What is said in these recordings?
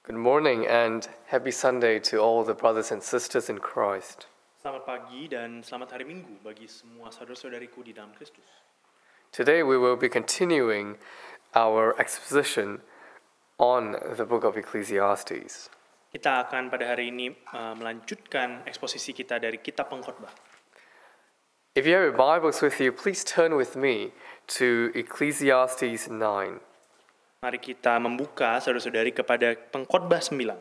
Good morning and happy Sunday to all the brothers and sisters in Christ. Selamat pagi dan selamat hari Minggu bagi semua saudara-saudariku di dalam Kristus. Today we will be continuing our exposition on the book of Ecclesiastes. Kita akan pada hari ini melanjutkan eksposisi kita dari kitab Pengkhotbah. If you have your Bibles with you, please turn with me to Ecclesiastes 9. Mari kita membuka saudara-saudari kepada Pengkhotbah 9.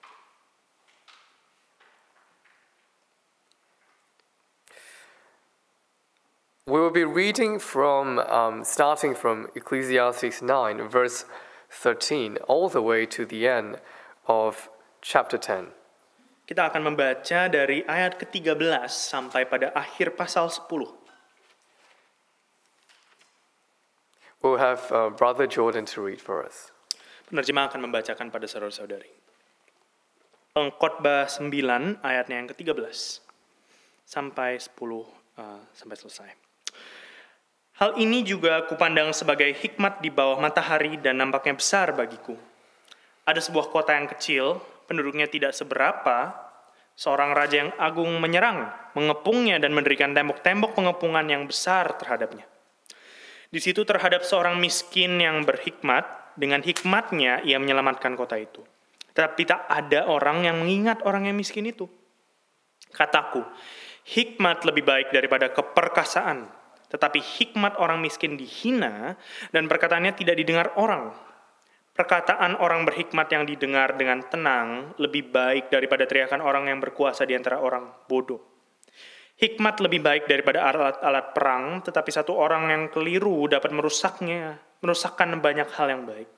We will be reading from, starting from Ecclesiastes 9, verse 13, all the way to the end of chapter 10. Kita akan membaca dari ayat ke-13 sampai pada akhir pasal 10. We'll have Brother Jordan to read for us. Penerjemah akan membacakan pada saudara-saudari. Pengkhotbah 9 ayatnya yang ke-13 sampai 10 sampai selesai. Hal ini juga kupandang sebagai hikmat di bawah matahari dan nampaknya besar bagiku. Ada sebuah kota yang kecil, penduduknya tidak seberapa, seorang raja yang agung menyerang, mengepungnya dan mendirikan tembok-tembok pengepungan yang besar terhadapnya. Di situ terhadap seorang miskin yang berhikmat, dengan hikmatnya ia menyelamatkan kota itu. Tetapi tak ada orang yang mengingat orang yang miskin itu. Kataku, hikmat lebih baik daripada keperkasaan, tetapi hikmat orang miskin dihina dan perkataannya tidak didengar orang. Perkataan orang berhikmat yang didengar dengan tenang lebih baik daripada teriakan orang yang berkuasa di antara orang bodoh. Hikmat lebih baik daripada alat-alat perang, tetapi satu orang yang keliru dapat merusakkan banyak hal yang baik.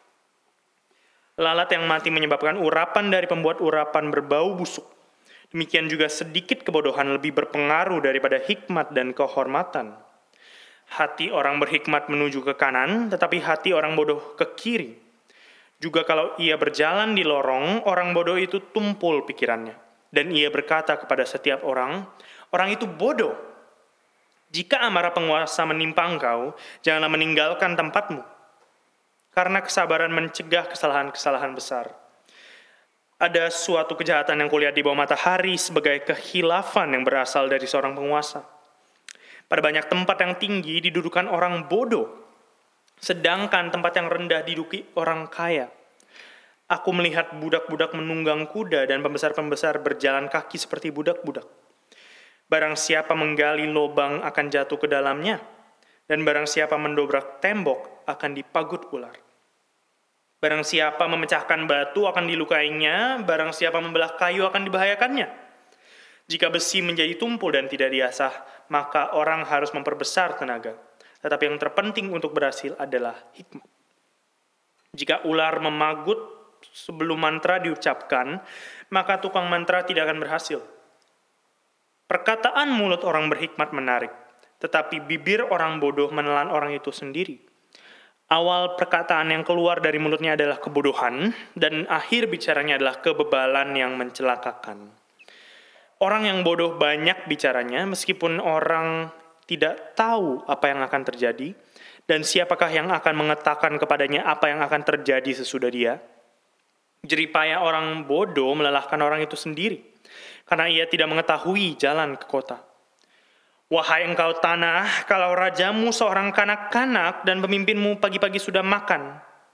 Lalat yang mati menyebabkan urapan dari pembuat urapan berbau busuk. Demikian juga sedikit kebodohan lebih berpengaruh daripada hikmat dan kehormatan. Hati orang berhikmat menuju ke kanan, tetapi hati orang bodoh ke kiri. Juga kalau ia berjalan di lorong, orang bodoh itu tumpul pikirannya. Dan ia berkata kepada setiap orang itu bodoh. Jika amarah penguasa menimpa engkau, janganlah meninggalkan tempatmu. Karena kesabaran mencegah kesalahan-kesalahan besar. Ada suatu kejahatan yang kulihat di bawah matahari sebagai kehilafan yang berasal dari seorang penguasa. Pada banyak tempat yang tinggi didudukan orang bodoh, sedangkan tempat yang rendah diduduki orang kaya. Aku melihat budak-budak menunggang kuda dan pembesar-pembesar berjalan kaki seperti budak-budak. Barang siapa menggali lubang akan jatuh ke dalamnya, dan barang siapa mendobrak tembok akan dipagut ular. Barang siapa memecahkan batu akan dilukainya, barang siapa membelah kayu akan dibahayakannya. Jika besi menjadi tumpul dan tidak diasah, maka orang harus memperbesar tenaga. Tetapi yang terpenting untuk berhasil adalah hikmat. Jika ular memagut sebelum mantra diucapkan, maka tukang mantra tidak akan berhasil. Perkataan mulut orang berhikmat menarik, tetapi bibir orang bodoh menelan orang itu sendiri. Awal perkataan yang keluar dari mulutnya adalah kebodohan, dan akhir bicaranya adalah kebebalan yang mencelakakan. Orang yang bodoh banyak bicaranya, meskipun orang tidak tahu apa yang akan terjadi, dan siapakah yang akan mengatakan kepadanya apa yang akan terjadi sesudah dia. Jeripaya orang bodoh melelahkan orang itu sendiri, karena ia tidak mengetahui jalan ke kota. Wahai engkau tanah, kalau rajamu seorang kanak-kanak dan pemimpinmu pagi-pagi sudah makan.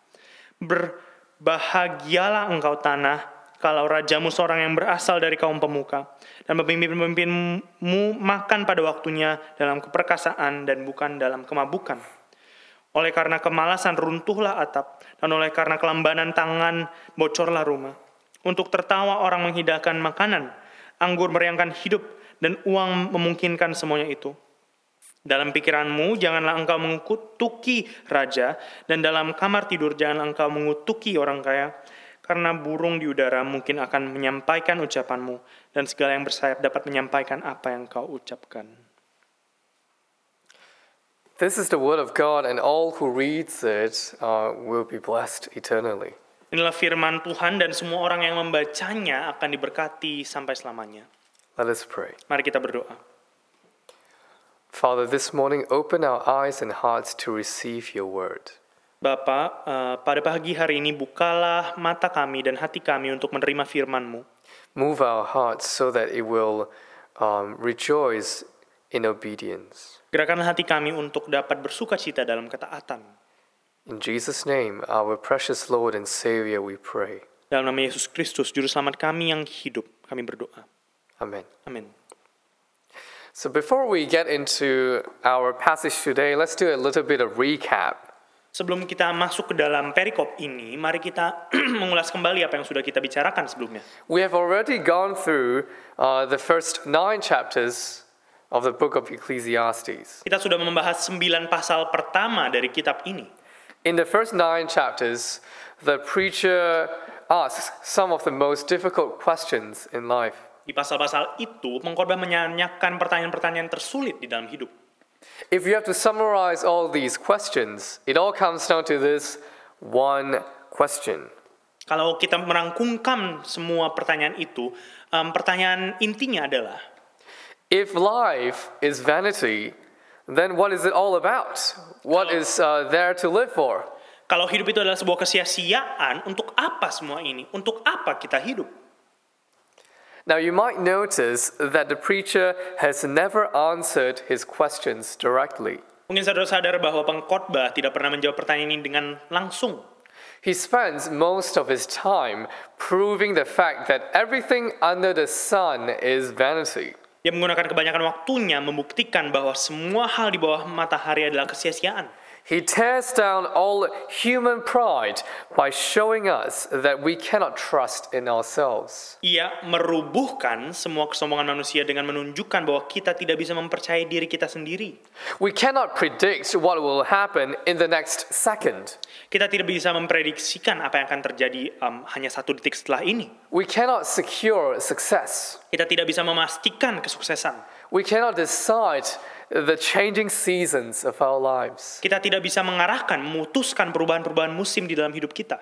Berbahagialah engkau tanah, kalau rajamu seorang yang berasal dari kaum pemuka, dan pemimpin-pemimpinmu makan pada waktunya dalam keperkasaan dan bukan dalam kemabukan. Oleh karena kemalasan runtuhlah atap, dan oleh karena kelambanan tangan bocorlah rumah. Untuk tertawa orang menghidangkan makanan, anggur meriangkan hidup, dan uang memungkinkan semuanya itu. Dalam pikiranmu janganlah engkau mengutuki raja, dan dalam kamar tidur janganlah engkau mengutuki orang kaya, karena burung di udara mungkin akan menyampaikan ucapanmu, dan segala yang bersayap dapat menyampaikan apa yang kau ucapkan. This is the word of God, and all who reads it will be blessed eternally. Inilah firman Tuhan dan semua orang yang membacanya akan diberkati sampai selamanya. Let us pray. Mari kita berdoa. Father, this morning open our eyes and hearts to receive your word. Bapa, pada pagi hari ini bukalah mata kami dan hati kami untuk menerima firman-Mu. Move our hearts so that it will rejoice in obedience. Gerakanlah hati kami untuk dapat bersuka cita dalam ketaatan. In Jesus' name, our precious Lord and Savior, we pray. Dalam nama Yesus Kristus, Juru Selamat kami yang hidup, kami berdoa. Amen. Amin. So before we get into our passage today, let's do a little bit of recap. Sebelum kita masuk ke dalam perikop ini, mari kita mengulas kembali apa yang sudah kita bicarakan sebelumnya. We have already gone through the first 9 chapters of the book of Ecclesiastes. Kita sudah membahas 9 pasal pertama dari kitab ini. In the first 9 chapters, the preacher asks some of the most difficult questions in life. Di pasal-pasal itu, pengkhotbah menanyakan pertanyaan-pertanyaan tersulit di dalam hidup. If you have to summarize all these questions, it all comes down to this one question. Kalau kita merangkumkan semua pertanyaan itu, pertanyaan intinya adalah, If life is vanity, then what is it all about? What is there to live for? kalau hidup itu adalah sebuah kesia-siaan, untuk apa semua ini? Untuk apa kita hidup? Now you might notice that the preacher has never answered his questions directly. Mungkin saudara sadar bahwa pengkhotbah tidak pernah menjawab pertanyaan ini dengan langsung. He spends most of his time proving the fact that everything under the sun is vanity. Dia menggunakan kebanyakan waktunya membuktikan bahwa semua hal di bawah matahari adalah kesia-siaan. He tears down all human pride by showing us that we cannot trust in ourselves. Ia merubuhkan semua kesombongan manusia dengan menunjukkan bahwa kita tidak bisa mempercayai diri kita sendiri. We cannot predict what will happen in the next second. Kita tidak bisa memprediksikan apa yang akan terjadi hanya 1 detik setelah ini. We cannot secure success. Kita tidak bisa memastikan kesuksesan. We cannot decide the changing seasons of our lives. Kita tidak bisa mengarahkan, memutuskan perubahan-perubahan musim di dalam hidup kita.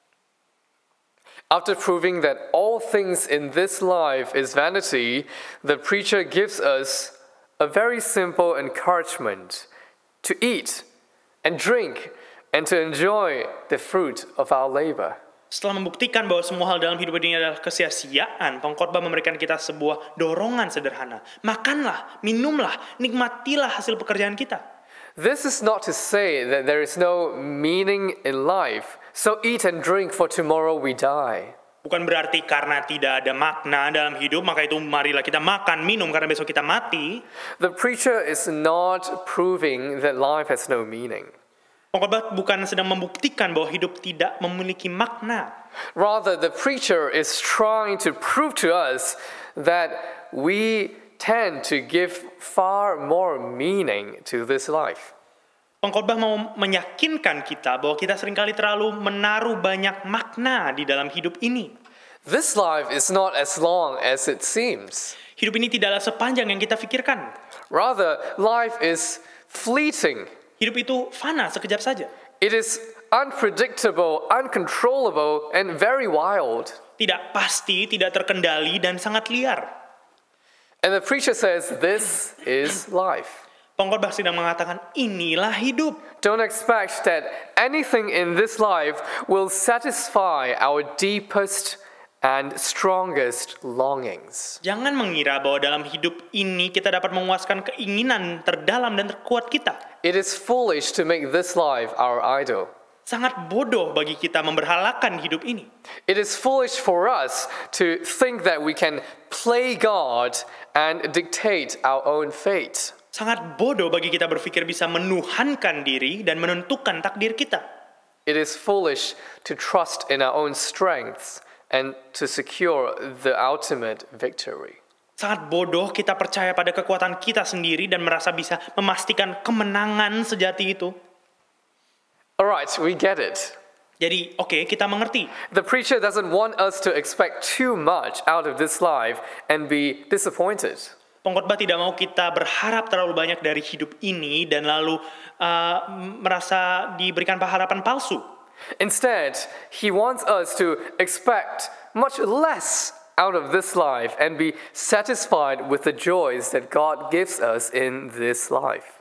After proving that all things in this life is vanity, the preacher gives us a very simple encouragement to eat and drink and to enjoy the fruit of our labor. Setelah membuktikan bahwa semua hal dalam hidup ini adalah kesia-siaan, pengkhotbah memberikan kita sebuah dorongan sederhana. Makanlah, minumlah, nikmatilah hasil pekerjaan kita. This is not to say that there is no meaning in life, so eat and drink for tomorrow we die. Bukan berarti karena tidak ada makna dalam hidup, maka itu marilah kita makan, minum karena besok kita mati. The preacher is not proving that life has no meaning. Pengkhotbah bukan sedang membuktikan bahwa hidup tidak memiliki makna. Rather, the preacher is trying to prove to us that we tend to give far more meaning to this life. Pengkhotbah mau meyakinkan kita bahwa kita seringkali terlalu menaruh banyak makna di dalam hidup ini. This life is not as long as it seems. Hidup ini tidaklah sepanjang yang kita pikirkan. Rather, life is fleeting. Hidup itu fana sekejap saja. It is unpredictable, uncontrollable, and very wild. Tidak pasti, tidak terkendali, dan sangat liar. And the preacher says, this is life. Pengkhotbah sedang mengatakan, inilah hidup. Don't expect that anything in this life will satisfy our deepest and strongest longings. Jangan mengira bahwa dalam hidup ini kita dapat memuaskan keinginan terdalam dan terkuat kita. It is foolish to make this life our idol. Sangat bodoh bagi kita memberhalakan hidup ini. It is foolish for us to think that we can play God and dictate our own fate. Sangat bodoh bagi kita berpikir bisa menuhankan diri dan menentukan takdir kita. It is foolish to trust in our own strengths and to secure the ultimate victory. Sangat bodoh kita percaya pada kekuatan kita sendiri dan merasa bisa memastikan kemenangan sejati itu. Alright, we get it. Jadi, oke, kita mengerti. The preacher doesn't want us to expect too much out of this life and be disappointed. Pengkhotbah tidak mau kita berharap terlalu banyak dari hidup ini dan lalu merasa diberikan harapan palsu. Instead, he wants us to expect much less out of this life and be satisfied with the joys that God gives us in this life.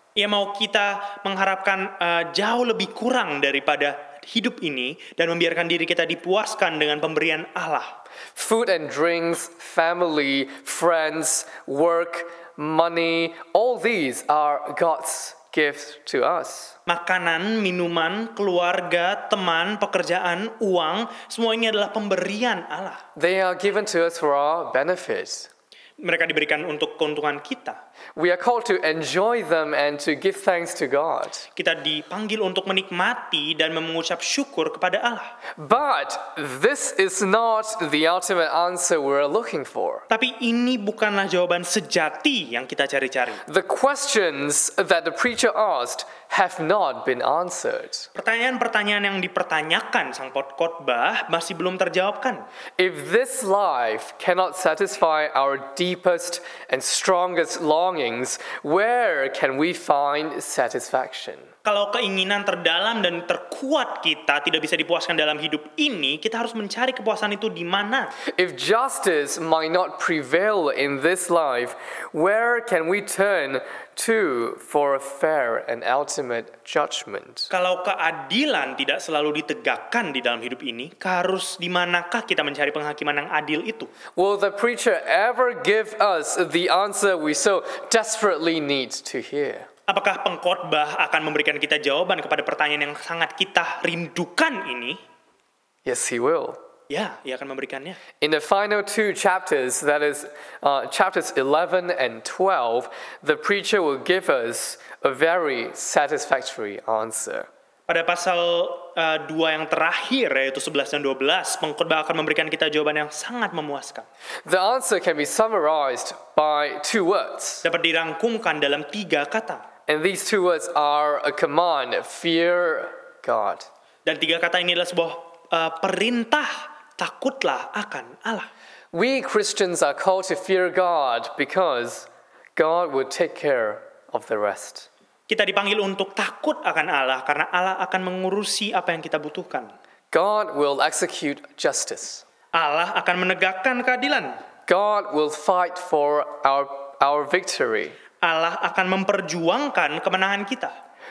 Ia mau kita mengharapkan jauh lebih kurang daripada hidup ini dan membiarkan diri kita dipuaskan dengan pemberian Allah. Food and drinks, family, friends, work, money, all these are God's gift to us. Makanan, minuman, keluarga, teman, pekerjaan, uang, semua ini adalah pemberian Allah. They are given to us for our benefit. Mereka diberikan untuk keuntungan kita. We are called to enjoy them and to give thanks to God. Kita dipanggil untuk menikmati dan mengucap syukur kepada Allah. But this is not the ultimate answer we're looking for. Tapi ini bukanlah jawaban sejati yang kita cari-cari. The questions that the preacher asked have not been answered. Pertanyaan-pertanyaan yang dipertanyakan sang khotbah masih belum terjawabkan. If this life cannot satisfy our deepest and strongest longings, where can we find satisfaction? Kalau keinginan terdalam dan terkuat kita tidak bisa dipuaskan dalam hidup ini, kita harus mencari kepuasan itu di mana? If justice might not prevail in this life, where can we turn to for a fair and ultimate judgment? Kalau keadilan tidak selalu ditegakkan di dalam hidup ini, harus di manakah kita mencari penghakiman yang adil itu? Will the preacher ever give us the answer we so desperately need to hear? Apakah pengkhotbah akan memberikan kita jawaban kepada pertanyaan yang sangat kita rindukan ini? Yes, he will. Ya, ia akan memberikannya. In the final two chapters, that is chapters 11 and 12, the preacher will give us a very satisfactory answer. Pada pasal 2 yang terakhir, yaitu 11 dan 12, pengkhotbah akan memberikan kita jawaban yang sangat memuaskan. The answer can be summarized by two words. Dapat dirangkumkan dalam 3 kata. And these two words are a command, fear God. Dan 3 kata ini adalah sebuah perintah, takutlah akan Allah. We Christians are called to fear God because God will take care of the rest. Kita dipanggil untuk takut akan Allah karena Allah akan mengurusi apa yang kita butuhkan. God will execute justice. Allah akan menegakkan keadilan. God will fight for our victory. Allah akan memperjuangkan kemenangan kita.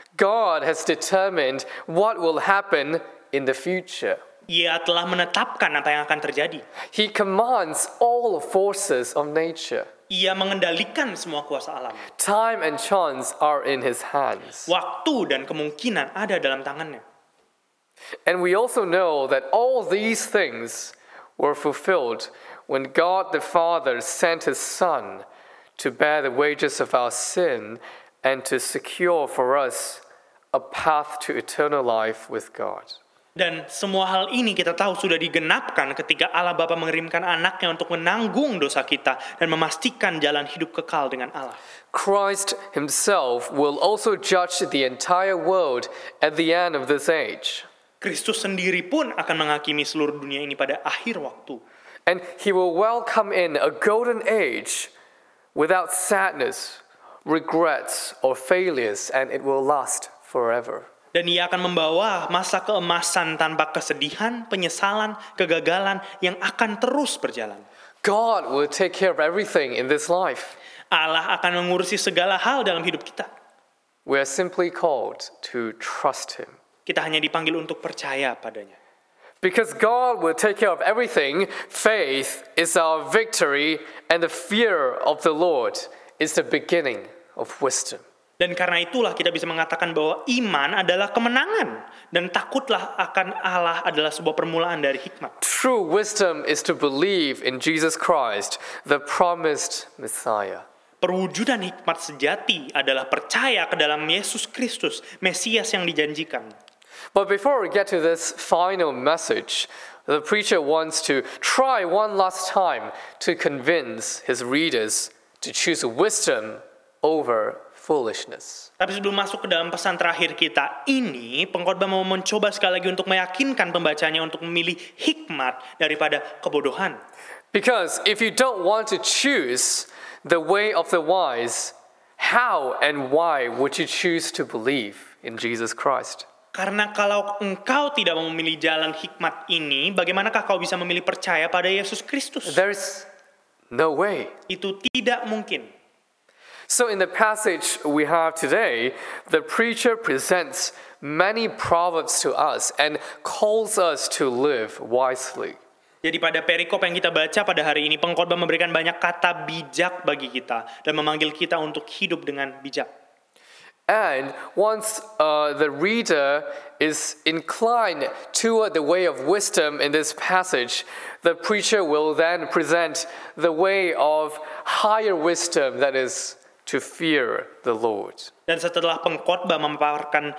God has determined what will happen in the future. Ia telah menetapkan apa yang akan terjadi. He commands all forces of nature. Ia mengendalikan semua kuasa alam. Time and chance are in his hands. Waktu dan kemungkinan ada dalam tangannya. And we also know that all these things were fulfilled when God the Father sent his Son to bear the wages of our sin and to secure for us a path to eternal life with God. Dan semua hal ini kita tahu sudah digenapkan ketika Allah Bapa mengirimkan anaknya untuk menanggung dosa kita dan memastikan jalan hidup kekal dengan Allah. Christ himself will also judge the entire world at the end of this age. Kristus sendiri pun akan menghakimi seluruh dunia ini pada akhir waktu. And he will welcome in a golden age without sadness, regrets, or failures, and it will last forever. Dan ia akan membawa masa keemasan tanpa kesedihan, penyesalan, kegagalan yang akan terus berjalan. God will take care of everything in this life. Allah akan mengurusi segala hal dalam hidup kita. We are simply called to trust him. Kita hanya dipanggil untuk percaya padanya. Because God will take care of everything, faith is our victory, and the fear of the Lord is the beginning of wisdom. Dan karena itulah kita bisa mengatakan bahwa iman adalah kemenangan. Dan takutlah akan Allah adalah sebuah permulaan dari hikmat. True wisdom is to believe in Jesus Christ, the promised Messiah. Perwujudan hikmat sejati adalah percaya ke dalam Yesus Kristus, Mesias yang dijanjikan. But before we get to this final message, the preacher wants to try one last time to convince his readers to choose wisdom over foolishness. Tapi sebelum masuk ke dalam pesan terakhir kita ini, pengkhotbah mau mencoba sekali lagi untuk meyakinkan pembacanya untuk memilih hikmat daripada kebodohan. Because if you don't want to choose the way of the wise, how and why would you choose to believe in Jesus Christ? Karena kalau engkau tidak mau memilih jalan hikmat ini, bagaimanakah kau bisa memilih percaya pada Yesus Kristus? There's no way. Itu tidak mungkin. So in the passage we have today, the preacher presents many proverbs to us and calls us to live wisely. Jadi pada perikop yang kita baca pada hari ini, pengkhotbah memberikan banyak kata bijak bagi kita dan memanggil kita untuk hidup dengan bijak. And once the reader is inclined toward the way of wisdom in this passage, the preacher will then present the way of higher wisdom, that is, to fear the Lord. Dan setelah pengkhotbah memaparkan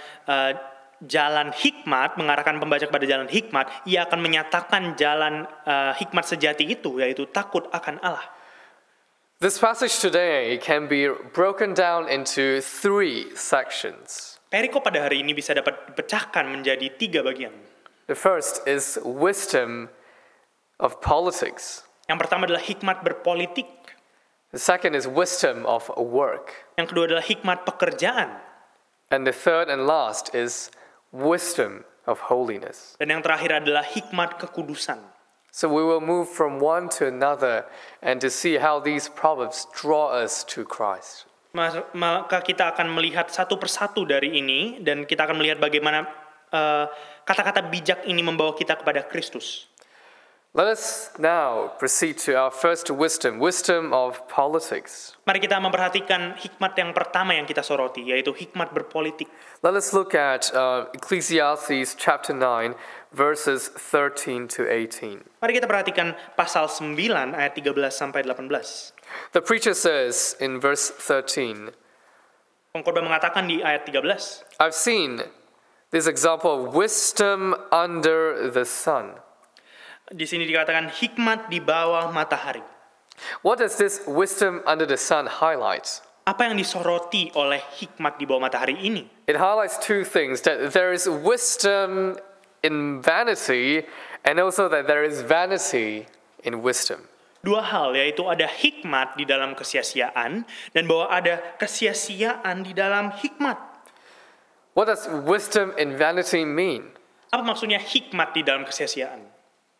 jalan hikmat, mengarahkan pembaca kepada jalan hikmat, ia akan menyatakan jalan hikmat sejati itu, yaitu takut akan Allah. This passage today can be broken down into 3 sections. Perikop pada hari ini bisa dapat dipecahkan menjadi 3 bagian. The first is wisdom of politics. Yang pertama adalah hikmat berpolitik. The second is wisdom of work. Yang kedua adalah hikmat pekerjaan. And the third and last is wisdom of holiness. Dan yang terakhir adalah hikmat kekudusan. So we will move from one to another and to see how these proverbs draw us to Christ. Maka kita akan melihat satu persatu dari ini, dan kita akan melihat bagaimana kata-kata bijak ini membawa kita kepada Kristus. Let us now proceed to our first wisdom of politics. Mari kita memperhatikan hikmat yang pertama yang kita soroti, yaitu hikmat berpolitik. Let us look at Ecclesiastes chapter 9, verses 13 to 18. Mari kita perhatikan pasal 9 ayat 13 sampai 18. The preacher says in verse 13, Pengkhotbah mengatakan di ayat 13, I've seen this example of wisdom under the sun. di sini dikatakan hikmat di bawah matahari. What does this wisdom under the sun highlight? Apa yang disoroti oleh hikmat di bawah matahari ini? It highlights 2 things, that there is wisdom in vanity and also that there is vanity in wisdom. 2 hal, yaitu ada hikmat di dalam kesia-siaan dan bahwa ada kesia-siaan di dalam hikmat. What does wisdom in vanity mean? Apa maksudnya hikmat di dalam kesia-siaan?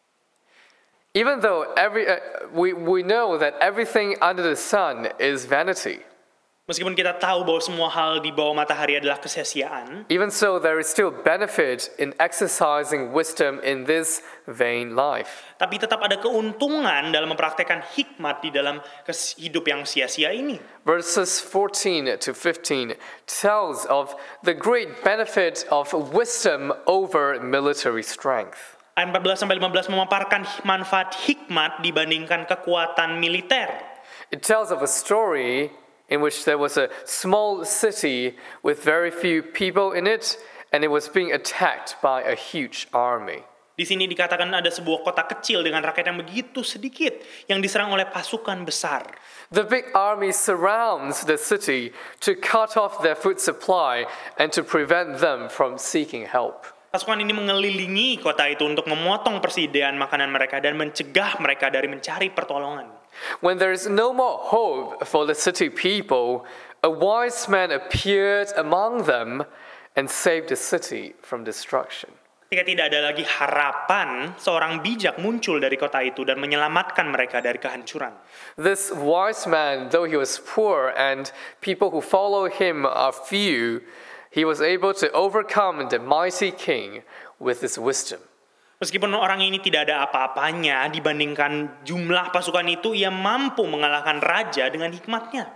Even though we know that everything under the sun is vanity, Meskipun kita tahu bahwa semua hal di bawah matahari adalah kesia-siaan, even so there is still benefit in exercising wisdom in this vain life. tapi tetap ada keuntungan dalam mempraktekkan hikmat di dalam hidup yang sia-sia ini. Verses 14 to 15 tells of the great benefit of wisdom over military strength. Ayat 14 sampai 15 memaparkan manfaat hikmat dibandingkan kekuatan militer. It tells of a story in which there was a small city with very few people in it, and it was being attacked by a huge army. Di sini dikatakan ada sebuah kota kecil dengan rakyat yang begitu sedikit yang diserang oleh pasukan besar. The big army surrounds the city to cut off their food supply and to prevent them from seeking help. Pasukan ini mengelilingi kota itu untuk memotong persediaan makanan mereka dan mencegah mereka dari mencari pertolongan. When there is no more hope for the city people, a wise man appeared among them and saved the city from destruction. Ketika tidak ada lagi harapan, seorang bijak muncul dari kota itu dan menyelamatkan mereka dari kehancuran. This wise man, though he was poor and people who follow him are few, he was able to overcome the mighty king with his wisdom. Meskipun orang ini tidak ada apa-apanya dibandingkan jumlah pasukan itu, ia mampu mengalahkan raja dengan hikmatnya.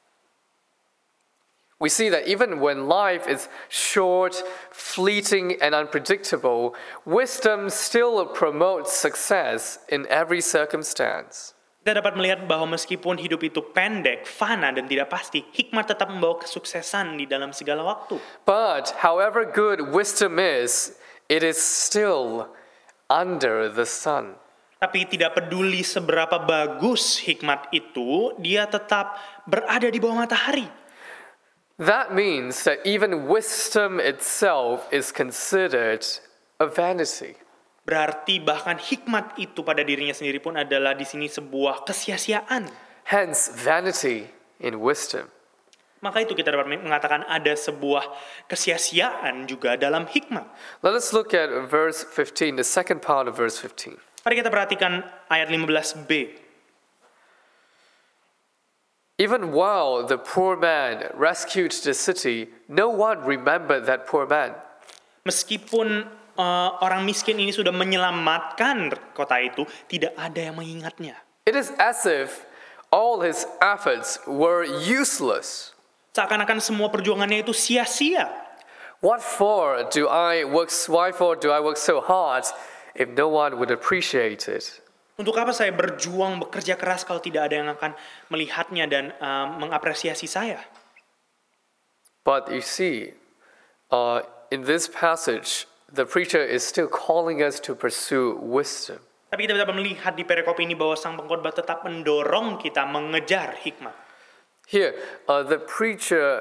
We see that even when life is short, fleeting, and unpredictable, wisdom still promotes success in every circumstance. Kita dapat melihat bahwa meskipun hidup itu pendek, fana, dan tidak pasti, hikmat tetap membawa kesuksesan di dalam segala waktu. But however good wisdom is, it is still under the sun. Tapi tidak peduli seberapa bagus hikmat itu, dia tetap berada di bawah matahari. That means that even wisdom itself is considered a vanity. Berarti bahkan hikmat itu pada dirinya sendiri pun adalah di sini sebuah kesia-siaan. Hence, vanity in wisdom. Maka itu kita dapat mengatakan ada sebuah kesia-siaan juga dalam hikmat. Let us look at verse 15, the second part of verse 15. Mari kita perhatikan ayat 15b. Even while the poor man rescued the city, no one remembered that poor man. Meskipun orang miskin ini sudah menyelamatkan kota itu, tidak ada yang mengingatnya. It is as if all his efforts were useless. Seakan-akan semua perjuangannya itu sia-sia. Why for do I work so hard if no one would appreciate it? Untuk apa saya berjuang, bekerja keras kalau tidak ada yang akan melihatnya dan mengapresiasi saya? But you see, in this passage, the preacher is still calling us to pursue wisdom. Tapi kita dapat melihat di perikop ini bahwa sang pengkhotbah tetap mendorong kita mengejar hikmat. Here, the preacher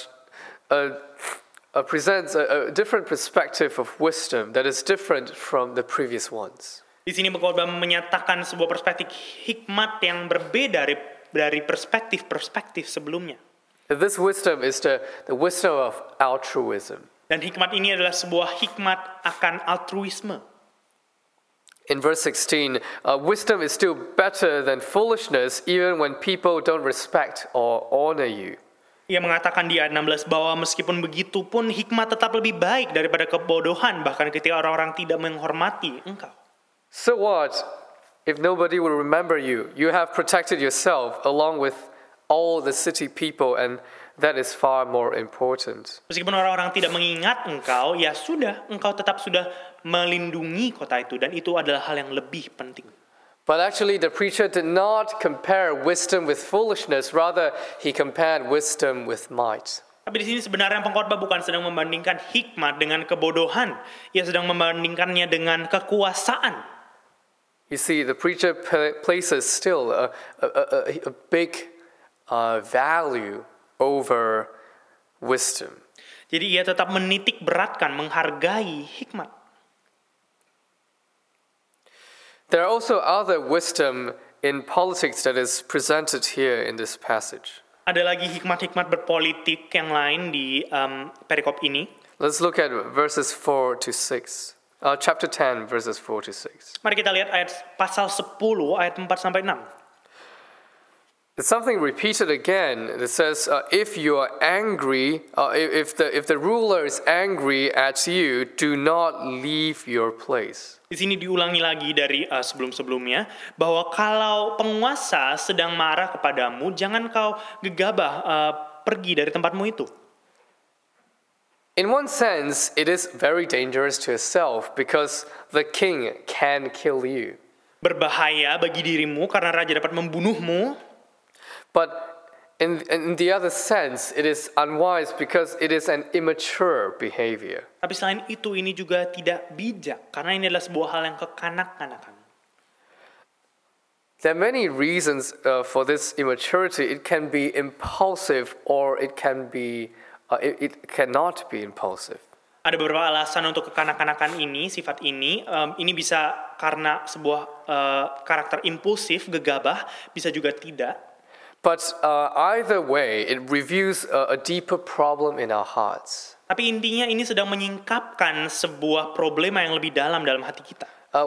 presents a different perspective of wisdom that is different from the previous ones. Di sini pengkhotbah menyatakan sebuah perspektif hikmat yang berbeda dari perspektif sebelumnya. This wisdom is the wisdom of altruism. Dan hikmat ini adalah sebuah hikmat akan altruisme. In verse 16, wisdom is still better than foolishness even when people don't respect or honor you. Ia mengatakan di ayat 16 bahwa meskipun begitu pun hikmat tetap lebih baik daripada kebodohan bahkan ketika orang-orang tidak menghormati engkau. So what if nobody will remember you? You have protected yourself along with all the city people, and that is far more important. Meskipun orang-orang tidak mengingat engkau, ya sudah, engkau tetap sudah melindungi kota itu, dan itu adalah hal yang lebih penting. But actually the preacher did not compare wisdom with foolishness, rather he compared wisdom with might. Tapi di sini sebenarnya pengkhotbah bukan sedang membandingkan hikmat dengan kebodohan, ia sedang membandingkannya dengan kekuasaan. You see, the preacher places still a big value over wisdom. Jadi ia tetap menitik beratkan, menghargai hikmat. There are also other wisdom in politics that is presented here in this passage. Ada lagi hikmat-hikmat berpolitik yang lain di perikop ini. Let's look at verses 4 to 6. Chapter 10, verses 4 to 6. Mari kita lihat ayat pasal 10 ayat 4 sampai 6. It's something repeated again. It says, if you are angry, if the ruler is angry at you, do not leave your place. Di sini diulangi lagi dari sebelum-sebelumnya bahwa kalau penguasa sedang marah kepadamu, jangan kau gegabah pergi dari tempatmu itu. In one sense, it is very dangerous to yourself because the king can kill you. Berbahaya bagi dirimu karena raja dapat membunuhmu. But in the other sense, it is unwise because it is an immature behavior. Tapi selain itu, ini juga tidak bijak karena ini adalah sebuah hal yang kekanak-kanakan. There are many reasons for this immaturity. It can be impulsive or it cannot be impulsive. Ada beberapa alasan untuk kekanak-kanakan ini, sifat ini. Ini bisa karena sebuah karakter impulsif, gegabah, bisa juga tidak. But either way, it reveals a deeper problem in our hearts. Tapi intinya ini sedang menyingkapkan sebuah problema yang lebih dalam hati kita.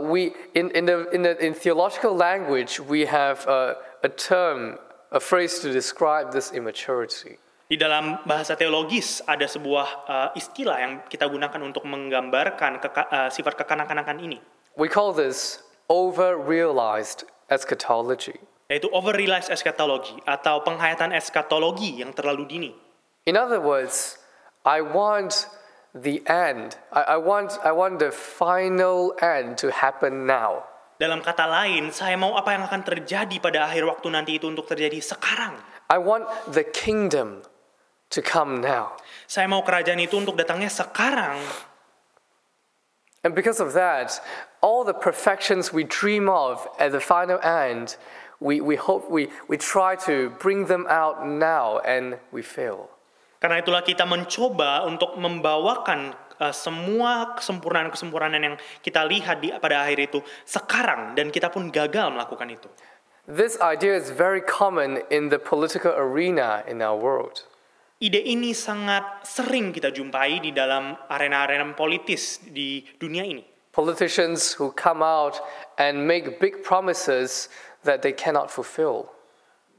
In theological language, we have a term, a phrase to describe this immaturity. Di dalam bahasa teologis ada sebuah istilah yang kita gunakan untuk menggambarkan sifat kekanak-kanakan ini. We call this over-realized eschatology. Yaitu over-realized eschatology atau penghayatan eskatologi yang terlalu dini. In other words, I want the end. I want the final end to happen now. Dalam kata lain, saya mau apa yang akan terjadi pada akhir waktu nanti itu untuk terjadi sekarang. I want the kingdom to come now. Saya mau kerajaan itu untuk datangnya sekarang. And because of that, all the perfections we dream of at the final end, we try to bring them out now and we fail. Karena itulah kita mencoba untuk membawakan semua kesempurnaan-kesempurnaan yang kita lihat pada akhir itu sekarang, dan kita pun gagal melakukan itu. This idea is very common in the political arena in our world. Ide ini sangat sering kita jumpai di dalam arena-arena politis di dunia ini. Politicians who come out and make big promises that they cannot fulfill.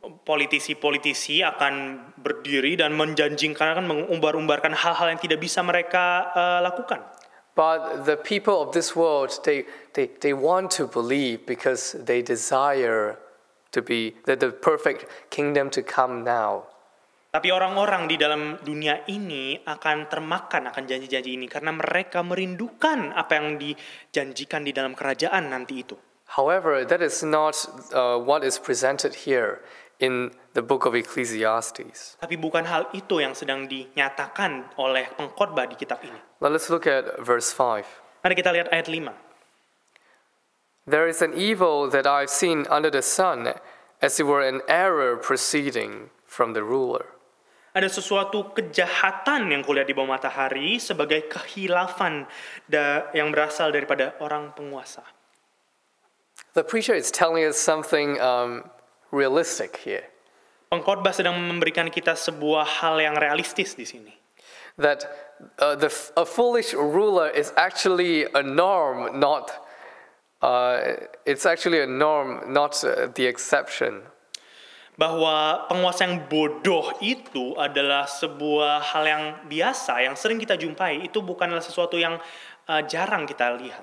politisi-politisi akan berdiri dan menjanjikan, akan mengumbar-umbarkan hal-hal yang tidak bisa mereka lakukan. But the people of this world, they want to believe because they desire to be the perfect kingdom to come now. Tapi orang-orang di dalam dunia ini akan termakan akan janji-janji ini karena mereka merindukan apa yang dijanjikan di dalam kerajaan nanti itu. However, that is not what is presented here in the book of Ecclesiastes. Tapi bukan hal itu yang sedang dinyatakan oleh pengkhotbah di kitab ini. Let us look at verse 5. Mari kita lihat ayat 5. There is an evil that I've seen under the sun, as it were an error proceeding from the ruler. Ada sesuatu kejahatan yang kulihat di bawah matahari sebagai kehilafan yang berasal daripada orang penguasa. The preacher is telling us something realistic here. Pengkhotbah sedang memberikan kita sebuah hal yang realistis di sini. That a foolish ruler is actually a norm, not it's actually a norm, not the exception. Bahwa penguasa yang bodoh itu adalah sebuah hal yang biasa, yang sering kita jumpai. Itu bukanlah sesuatu yang jarang kita lihat.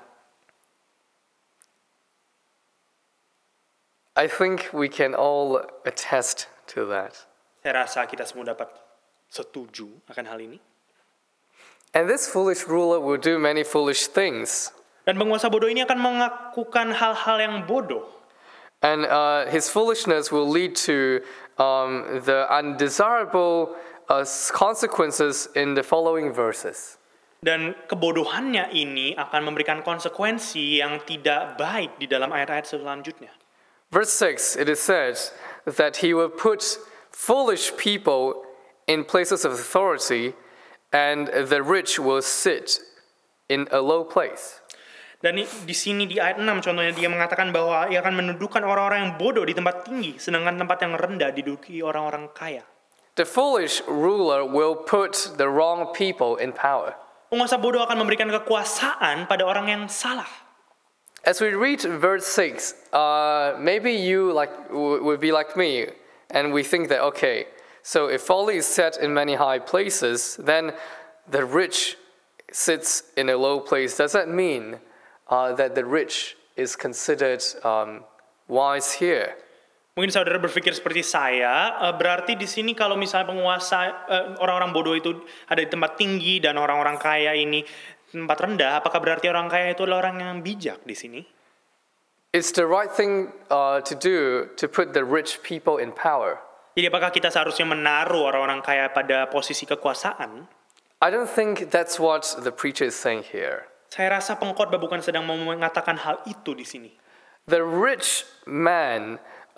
I think we can all attest to that. Saya rasa kita semua dapat setuju akan hal ini. And this foolish ruler will do many foolish things. Dan penguasa bodoh ini akan melakukan hal-hal yang bodoh. And his foolishness will lead to the undesirable consequences in the following verses. Dan kebodohannya ini akan memberikan konsekuensi yang tidak baik di dalam ayat-ayat selanjutnya. Verse 6, it is said that he will put foolish people in places of authority, and the rich will sit in a low place. Dan di sini di ayat 6 contohnya dia mengatakan bahwa ia akan mendudukan orang-orang yang bodoh di tempat tinggi, sedangkan tempat yang rendah diduduki orang-orang kaya. The foolish ruler will put the wrong people in power. Penguasa bodoh akan memberikan kekuasaan pada orang yang salah. As we read verse 6, maybe you would be like me, and we think that, okay, so if folly is set in many high places, then the rich sits in a low place. Does that mean that the rich is considered wise here? Mungkin saudara berpikir seperti saya, berarti di sini kalau misalnya penguasa orang-orang bodoh itu ada di tempat tinggi dan orang-orang kaya ini tempat rendah, apakah berarti orang kaya itu adalah orang yang bijak di sini? It's the right thing to do to put the rich people in power. Jadi apakah kita seharusnya menaruh orang-orang kaya pada posisi kekuasaan? I don't think that's what the preacher is saying here. Saya rasa pengkhotbah bukan sedang mengatakan hal itu di sini. The rich man,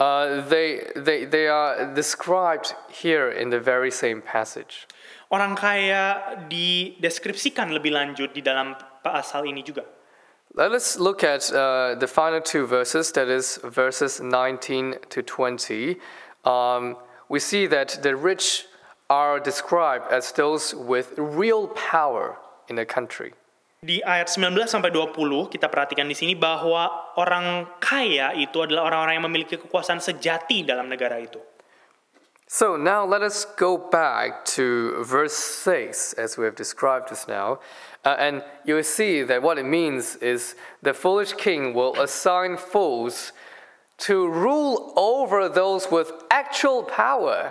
they are described here in the very same passage. Orang kaya dideskripsikan lebih lanjut di dalam pasal ini juga. Let us look at the final two verses, that is verses 19 to 20. We see that the rich are described as those with real power in the country. Di ayat 19 sampai 20 kita perhatikan di sini bahwa orang kaya itu adalah orang-orang yang memiliki kekuasaan sejati dalam negara itu. So now let us go back to verse 6 as we have described just now. And you will see that what it means is the foolish king will assign fools to rule over those with actual power.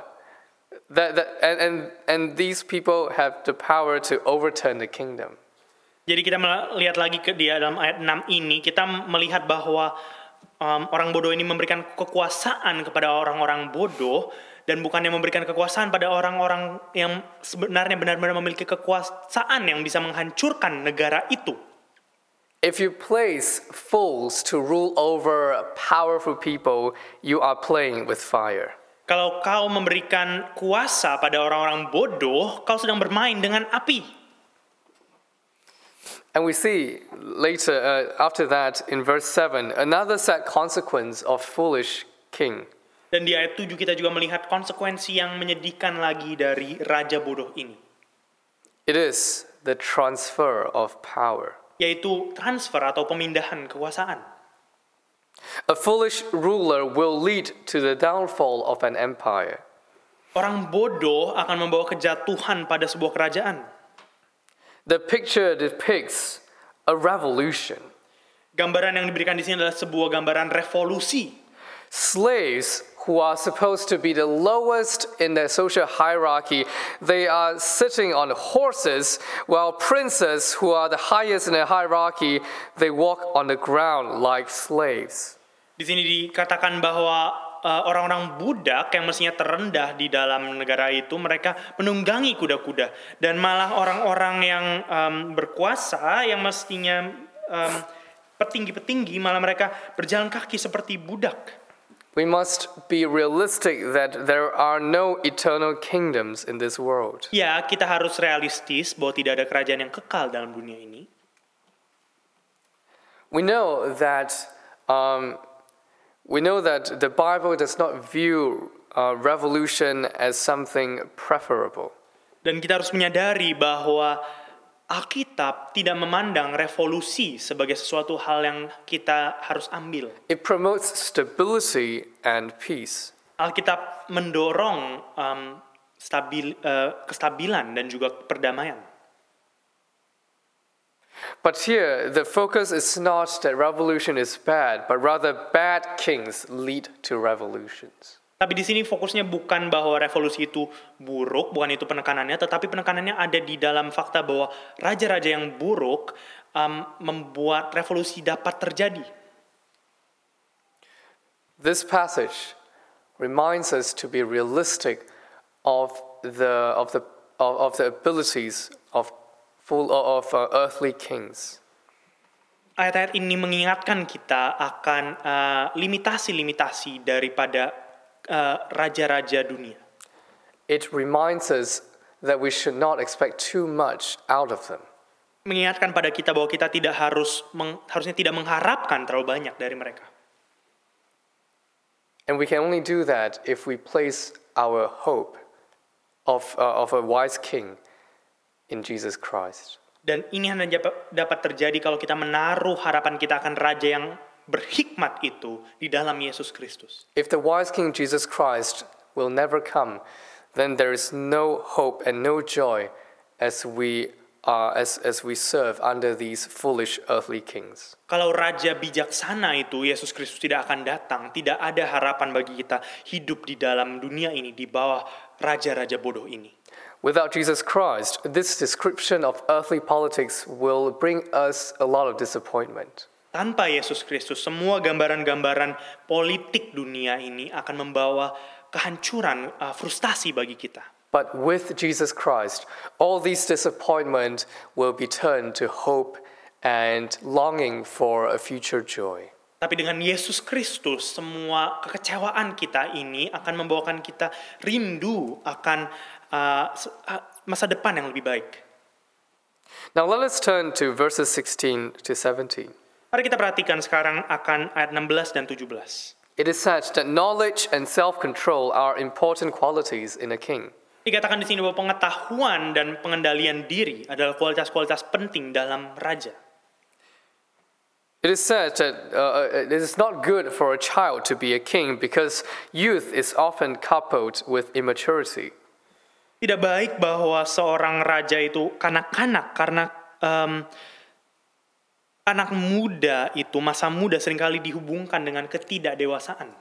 And these people have the power to overturn the kingdom. Jadi kita melihat lagi di dalam ayat 6 ini, kita melihat bahwa orang bodoh ini memberikan kekuasaan kepada orang-orang bodoh, dan bukannya memberikan kekuasaan pada orang-orang yang sebenarnya benar-benar memiliki kekuasaan yang bisa menghancurkan negara itu. If you place fools to rule over powerful people, you are playing with fire. Kalau kau memberikan kuasa pada orang-orang bodoh, kau sedang bermain dengan api. And we see later, after that, in verse 7, another sad consequence of foolish king. Dan di ayat 7 kita juga melihat konsekuensi yang menyedihkan lagi dari raja bodoh ini. It is the transfer of power. Yaitu transfer atau pemindahan kekuasaan. A foolish ruler will lead to the downfall of an empire. Orang bodoh akan membawa kejatuhan pada sebuah kerajaan. The picture depicts a revolution. Gambaran yang diberikan di sini adalah sebuah gambaran revolusi. Slaves who are supposed to be the lowest in their social hierarchy, they are sitting on horses, while princes who are the highest in the hierarchy, they walk on the ground like slaves. Di sini dikatakan bahwa orang-orang budak yang mestinya terendah di dalam negara itu, mereka menunggangi kuda-kuda. Dan malah orang-orang yang berkuasa, yang mestinya petinggi-petinggi, malah mereka berjalan kaki seperti budak. We must be realistic that there are no eternal kingdoms in this world. Ya, kita harus realistis bahwa tidak ada kerajaan yang kekal dalam dunia ini. We know that the Bible does not view revolution as something preferable. Dan kita harus menyadari bahwa Alkitab tidak memandang revolusi sebagai sesuatu hal yang kita harus ambil. It promotes stability and peace. Alkitab mendorong kestabilan dan juga perdamaian. But here, the focus is not that revolution is bad, but rather bad kings lead to revolutions. Tapi di sini fokusnya bukan bahwa revolusi itu buruk, bukan itu penekanannya, tetapi penekanannya ada di dalam fakta bahwa raja-raja yang buruk membuat revolusi dapat terjadi. This passage reminds us to be realistic of the abilities of earthly kings. Ayat-ayat ini mengingatkan kita akan limitasi-limitasi daripada raja-raja dunia. It reminds us that we should not expect too much out of them. Mengingatkan pada kita bahwa kita tidak harusnya tidak mengharapkan terlalu banyak dari mereka. And we can only do that if we place our hope of a wise king in Jesus Christ. Dan ini hanya dapat terjadi kalau kita menaruh harapan kita akan raja yang berhikmat itu di dalam Yesus Kristus. If the wise King Jesus Christ will never come, then there is no hope and no joy as we serve under these foolish earthly kings. Kalau raja bijaksana itu Yesus Kristus tidak akan datang, tidak ada harapan bagi kita hidup di dalam dunia ini di bawah raja-raja bodoh ini. Without Jesus Christ, this description of earthly politics will bring us a lot of disappointment. Tanpa Yesus Kristus, semua gambaran-gambaran politik dunia ini akan membawa kehancuran, frustasi bagi kita. But with Jesus Christ, all these disappointment will be turned to hope and longing for a future joy. Tapi dengan Yesus Kristus, semua kekecewaan kita ini akan membawakan kita rindu akan masa depan yang lebih baik. Now let us turn to verses 16 to 17. Mari kita perhatikan sekarang akan ayat 16 dan 17. It is said that knowledge and self-control are important qualities in a king. Dikatakan di sini bahwa pengetahuan dan pengendalian diri adalah kualitas-kualitas penting dalam raja. It is said that it is not good for a child to be a king because youth is often coupled with immaturity. Tidak baik bahwa seorang raja itu kanak-kanak karena anak muda itu, masa muda seringkali dihubungkan dengan ketidakdewasaan.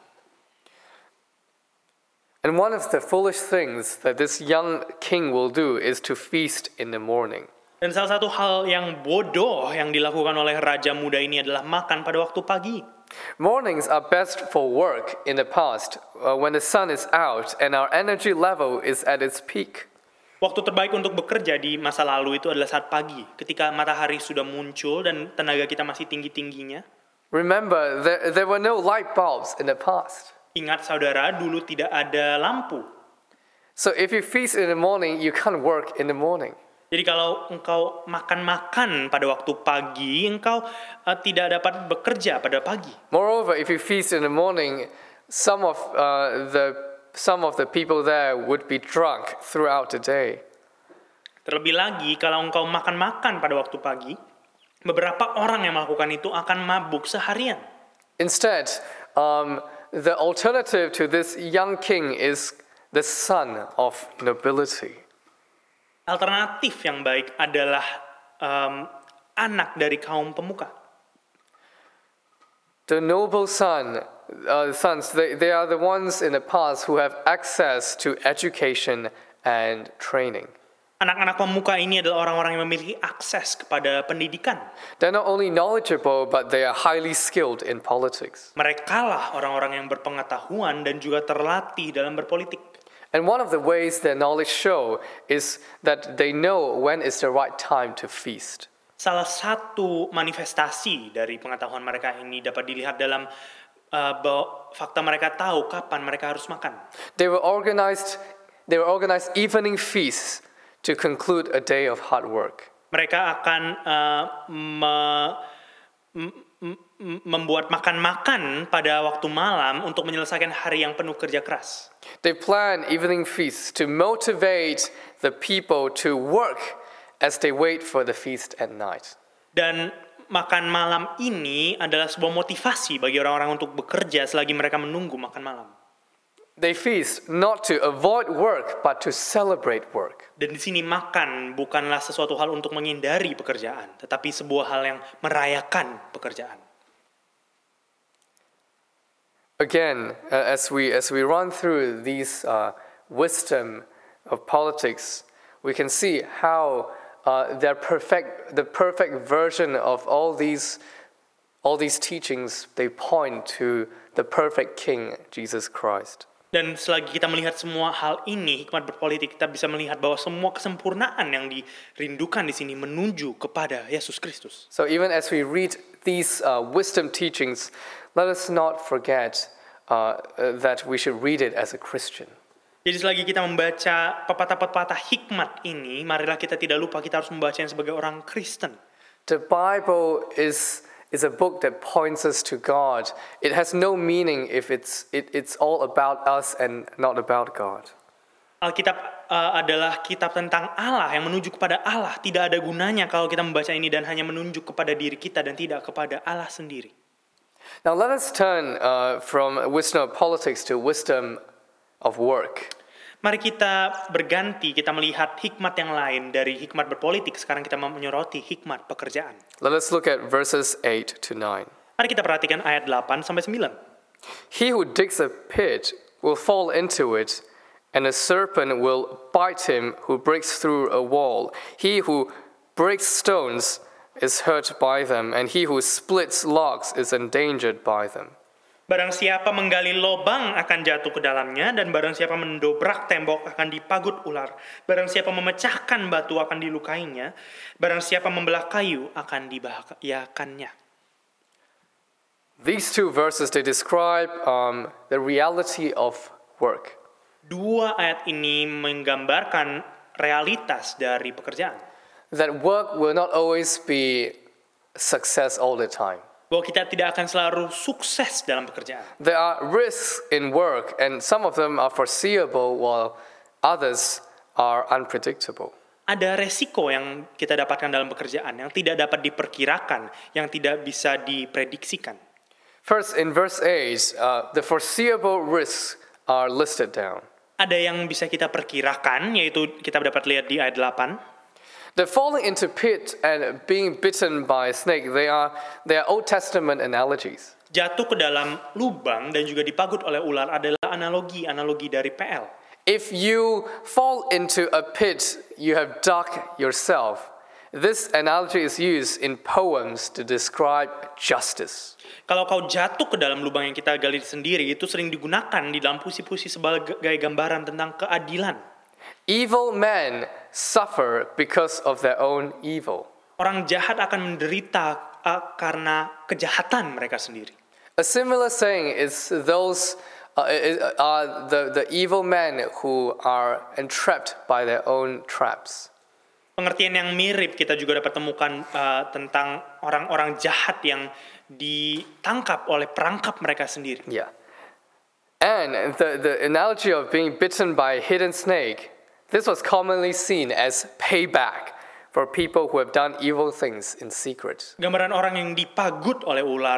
And one of the foolish things that this young king will do is to feast in the morning. Dan salah satu hal yang bodoh yang dilakukan oleh raja muda ini adalah makan pada waktu pagi. Mornings are best for work in the past, when the sun is out and our energy level is at its peak. Waktu terbaik untuk bekerja di masa lalu itu adalah saat pagi, ketika matahari sudah muncul dan tenaga kita masih tinggi-tingginya. Remember, there were no light bulbs in the past. Ingat saudara, dulu tidak ada lampu. So if you feast in the morning, you can't work in the morning. Jadi kalau engkau makan-makan pada waktu pagi, engkau tidak dapat bekerja pada pagi. Moreover, if you feast in the morning, some of the people there would be drunk throughout the day. Terlebih lagi, kalau engkau makan-makan pada waktu pagi, beberapa orang yang melakukan itu akan mabuk seharian. Instead, the alternative to this young king is the son of nobility. Alternatif yang baik adalah anak dari kaum pemuka. The noble sons, they are the ones in the past who have access to education and training. Anak-anak pemuka ini adalah orang-orang yang memiliki akses kepada pendidikan. They're not only knowledgeable, but they are highly skilled in politics. Mereka lah orang-orang yang berpengetahuan dan juga terlatih dalam berpolitik. And one of the ways their knowledge show is that they know when is the right time to feast. Salah satu manifestasi dari pengetahuan mereka ini dapat dilihat dalam fakta mereka tahu kapan mereka harus makan. They were organized evening feasts to conclude a day of hard work. Mereka akan membuat makan-makan pada waktu malam untuk menyelesaikan hari yang penuh kerja keras. They plan evening feasts to motivate the people to work as they wait for the feast at night. Dan makan malam ini adalah sebuah motivasi bagi orang-orang untuk bekerja selagi mereka menunggu makan malam. They feast not to avoid work, but to celebrate work. Dan di sini makan bukanlah sesuatu hal untuk menghindari pekerjaan, tetapi sebuah hal yang merayakan pekerjaan. Again, as we run through these wisdom of politics, we can see how the perfect version of all these teachings, they point to the perfect King, Jesus Christ. Dan selagi kita melihat semua hal ini, hikmat berpolitik, kita bisa melihat bahwa semua kesempurnaan yang dirindukan di sini menuju kepada Yesus Kristus. So even as we read these wisdom teachings, let us not forget that we should read it as a Christian. Jadi selagi kita membaca pepatah-pepatah hikmat ini, marilah kita tidak lupa kita harus membacanya sebagai orang Kristen. The Bible is a book that points us to God. It has no meaning if it's all about us and not about God. Alkitab adalah kitab tentang Allah yang menuju kepada Allah. Tidak ada gunanya kalau kita membaca ini dan hanya menunjuk kepada diri kita dan tidak kepada Allah sendiri. Now let us turn from wisdom of politics to wisdom of work. Mari kita berganti, kita melihat hikmat yang lain dari hikmat berpolitik. Sekarang kita menyoroti hikmat pekerjaan. Let us look at verses 8 to 9. Mari kita perhatikan ayat 8 sampai 9. He who digs a pit will fall into it, and a serpent will bite him who breaks through a wall. He who breaks stones is hurt by them, and he who splits logs is endangered by them. Barang siapa menggali lobang akan jatuh ke dalamnya, dan barang siapa mendobrak tembok akan dipagut ular. Barang siapa memecahkan batu akan dilukainya, barang siapa membelah kayu akan dibahayakannya. These two verses, they describe the reality of work. Dua ayat ini menggambarkan realitas dari pekerjaan. That work will not always be success all the time. Bahwa kita tidak akan selalu sukses dalam pekerjaan. There are risks in work, and some of them are foreseeable while others are unpredictable. Ada resiko yang kita dapatkan dalam pekerjaan yang tidak dapat diperkirakan, yang tidak bisa diprediksikan. First, in verse 8, the foreseeable risks are listed down. Ada yang bisa kita perkirakan, yaitu kita dapat lihat di ayat 8. The falling into pit and being bitten by a snake, they are Old Testament analogies. Jatuh ke dalam lubang dan juga dipagut oleh ular adalah analogi dari PL. If you fall into a pit you have dug yourself, this analogy is used in poems to describe justice. Kalau kau jatuh ke dalam lubang yang kita gali sendiri, itu sering digunakan di dalam puisi-puisi sebagai gambaran tentang keadilan. Evil men suffer because of their own evil. Orang jahat akan menderita karena kejahatan mereka sendiri. A similar saying is those are the evil men who are entrapped by their own traps. Pengertian yang mirip kita juga dapat temukan tentang orang-orang jahat yang ditangkap oleh perangkap mereka sendiri. Yeah. And the analogy of being bitten by a hidden snake, this was commonly seen as payback for people who have done evil things in secret. Gambaran orang yang dipagut oleh ular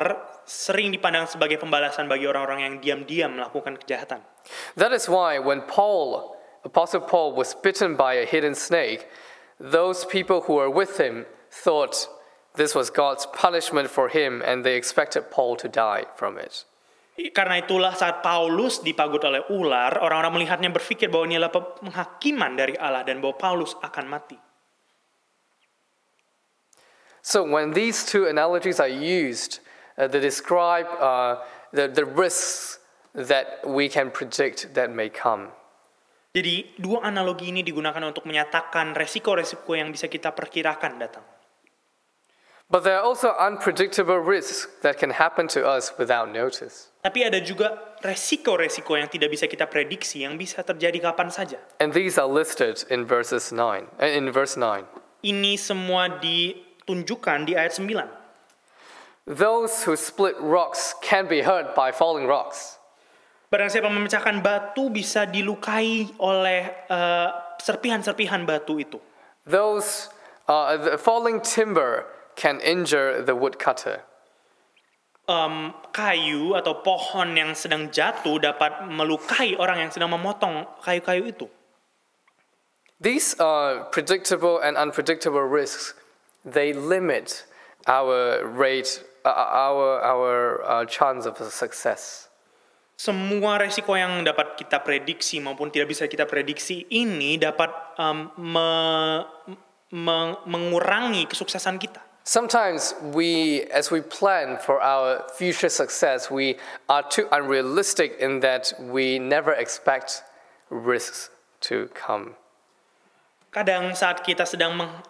sering dipandang sebagai pembalasan bagi orang-orang yang diam-diam melakukan kejahatan. That is why when Apostle Paul was bitten by a hidden snake, those people who were with him thought this was God's punishment for him and they expected Paul to die from it. Karena itulah saat Paulus dipagut oleh ular, orang-orang melihatnya berpikir bahwa ini adalah penghakiman dari Allah dan bahwa Paulus akan mati. So when these two analogies are used to describe the risks that we can predict that may come. Jadi dua analogi ini digunakan untuk menyatakan resiko-resiko yang bisa kita perkirakan datang. But there are also unpredictable risks that can happen to us without notice. Tapi ada juga resiko-resiko yang tidak bisa kita prediksi yang bisa terjadi kapan saja. And these are listed in verse 9. Ini semua ditunjukkan di ayat 9. Those who split rocks can be hurt by falling rocks. Barang siapa memecahkan batu bisa dilukai oleh serpihan-serpihan batu itu. Those the falling timber can injure the woodcutter. Kayu atau pohon yang sedang jatuh dapat melukai orang yang sedang memotong kayu-kayu itu. These predictable and unpredictable risks, they limit our chance of success. Semua resiko yang dapat kita prediksi maupun tidak bisa kita prediksi ini dapat mengurangi kesuksesan kita. Sometimes as we plan for our future success, we are too unrealistic in that we never expect risks to come. Kadang saat kita sedang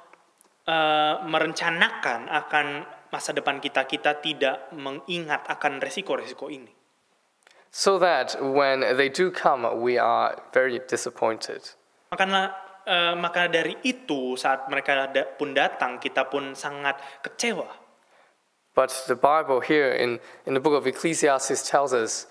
merencanakan akan masa depan kita, kita tidak mengingat akan resiko-resiko ini. So that when they do come, we are very disappointed. Maka dari itu saat mereka pun datang, kita pun sangat kecewa. But the Bible here in the book of Ecclesiastes tells us,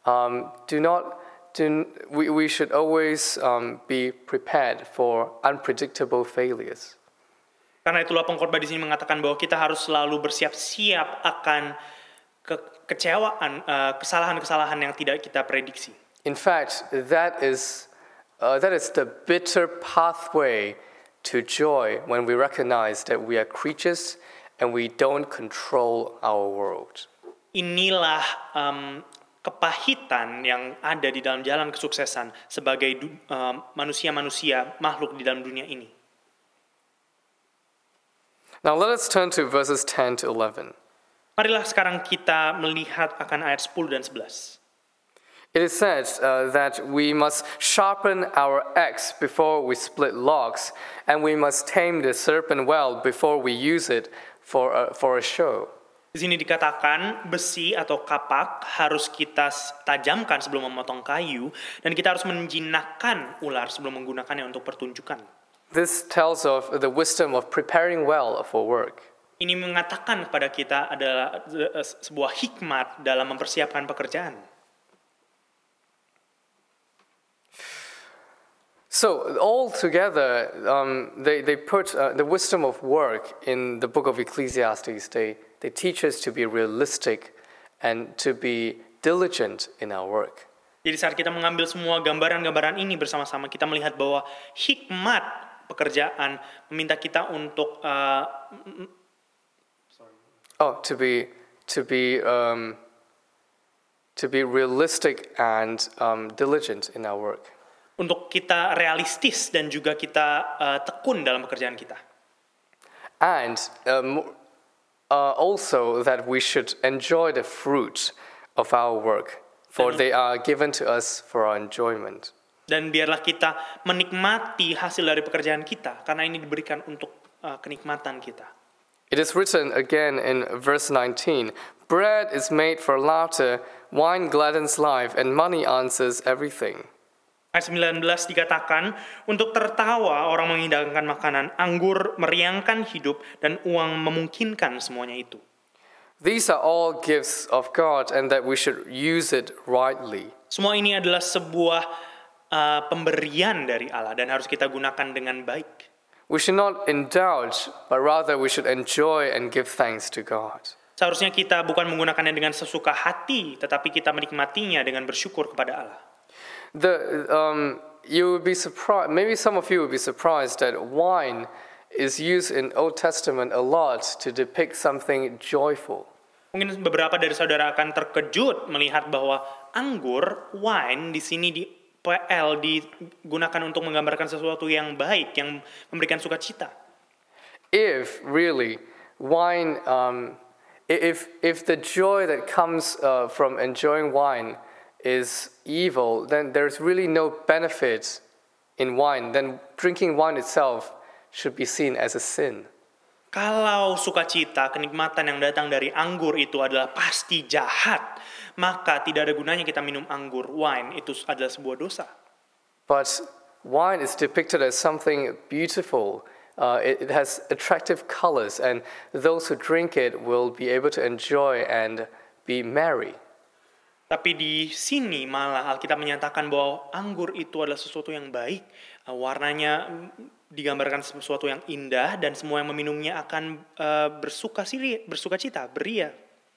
we should always be prepared for unpredictable failures. Karena itulah pengkhotbah di sini mengatakan bahwa kita harus selalu bersiap-siap akan kekecewaan, kesalahan-kesalahan yang tidak kita prediksi. In fact, that is the bitter pathway to joy when we recognize that we are creatures and we don't control our world. Inilah kepahitan yang ada di dalam jalan kesuksesan sebagai manusia-manusia makhluk di dalam dunia ini. Now let us turn to verses 10 to 11. Marilah sekarang kita melihat akan ayat 10 dan 11. It is said that we must sharpen our axe before we split logs, and we must tame the serpent well before we use it for a show. Di sini dikatakan besi atau kapak harus kita tajamkan sebelum memotong kayu, dan kita harus menjinakkan ular sebelum menggunakannya untuk pertunjukan. This tells of the wisdom of preparing well for work. Ini mengatakan kepada kita adalah sebuah hikmat dalam mempersiapkan pekerjaan. So all together, they put the wisdom of work in the book of Ecclesiastes. They teach us to be realistic and to be diligent in our work. Jadi saat kita mengambil semua gambaran-gambaran ini bersama-sama, kita melihat bahwa hikmat pekerjaan meminta kita untuk to be realistic and diligent in our work. Untuk kita realistis dan juga kita tekun dalam pekerjaan kita. And also that we should enjoy the fruit of our work, for they are given to us for our enjoyment. Dan biarlah kita menikmati hasil dari pekerjaan kita, karena ini diberikan untuk kenikmatan kita. It is written again in verse 19, bread is made for laughter, wine gladdens life, and money answers everything. Ayat 19 dikatakan, untuk tertawa orang menghidangkan makanan, anggur meriangkan hidup, dan uang memungkinkan semuanya itu. These are all gifts of God and that we should use it rightly. Semua ini adalah sebuah pemberian dari Allah dan harus kita gunakan dengan baik. We should not indulge, but rather we should enjoy and give thanks to God. Seharusnya kita bukan menggunakannya dengan sesuka hati, tetapi kita menikmatinya dengan bersyukur kepada Allah. You would be surprised. Maybe some of you would be surprised that wine is used in Old Testament a lot to depict something joyful. Mungkin beberapa dari saudara akan terkejut melihat bahwa anggur, wine di sini di PL digunakan untuk menggambarkan sesuatu yang baik, yang memberikan sukacita. If really wine, if the joy that comes from enjoying wine is evil, then there's really no benefit in wine. Then drinking wine itself should be seen as a sin. Kalau sukacita, kenikmatan yang datang dari anggur itu adalah pasti jahat, maka tidak ada gunanya kita minum anggur, wine, itu adalah sebuah dosa. But wine is depicted as something beautiful. It has attractive colors, and those who drink it will be able to enjoy and be merry. Tapi di sini malah Alkitab menyatakan bahwa anggur itu adalah sesuatu yang baik, warnanya digambarkan sesuatu yang indah, dan semua yang meminumnya akan bersukacita, beria.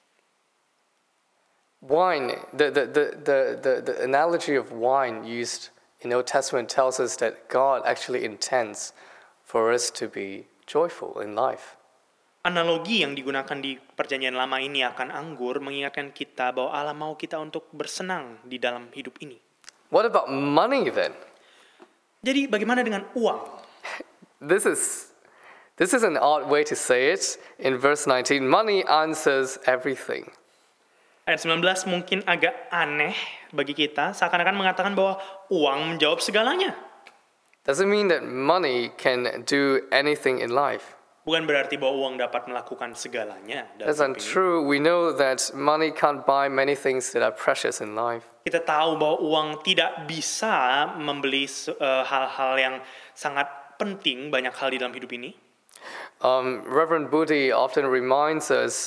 Wine, the analogy of wine used in Old Testament tells us that God actually intends for us to be joyful in life. Analogi yang digunakan di Perjanjian Lama ini akan anggur mengingatkan kita bahwa Allah mau kita untuk bersenang di dalam hidup ini. What about money then? Jadi bagaimana dengan uang? This is an odd way to say it. In verse 19, money answers everything. Ayat 19 mungkin agak aneh bagi kita, seakan-akan mengatakan bahwa uang menjawab segalanya. Doesn't mean that money can do anything in life. Bukan berarti bahwa uang dapat melakukan segalanya. That's untrue. We know that money can't buy many things that are precious in life. Kita tahu bahwa uang tidak bisa membeli hal-hal yang sangat penting, banyak hal di dalam hidup ini. Reverend Budi often reminds us,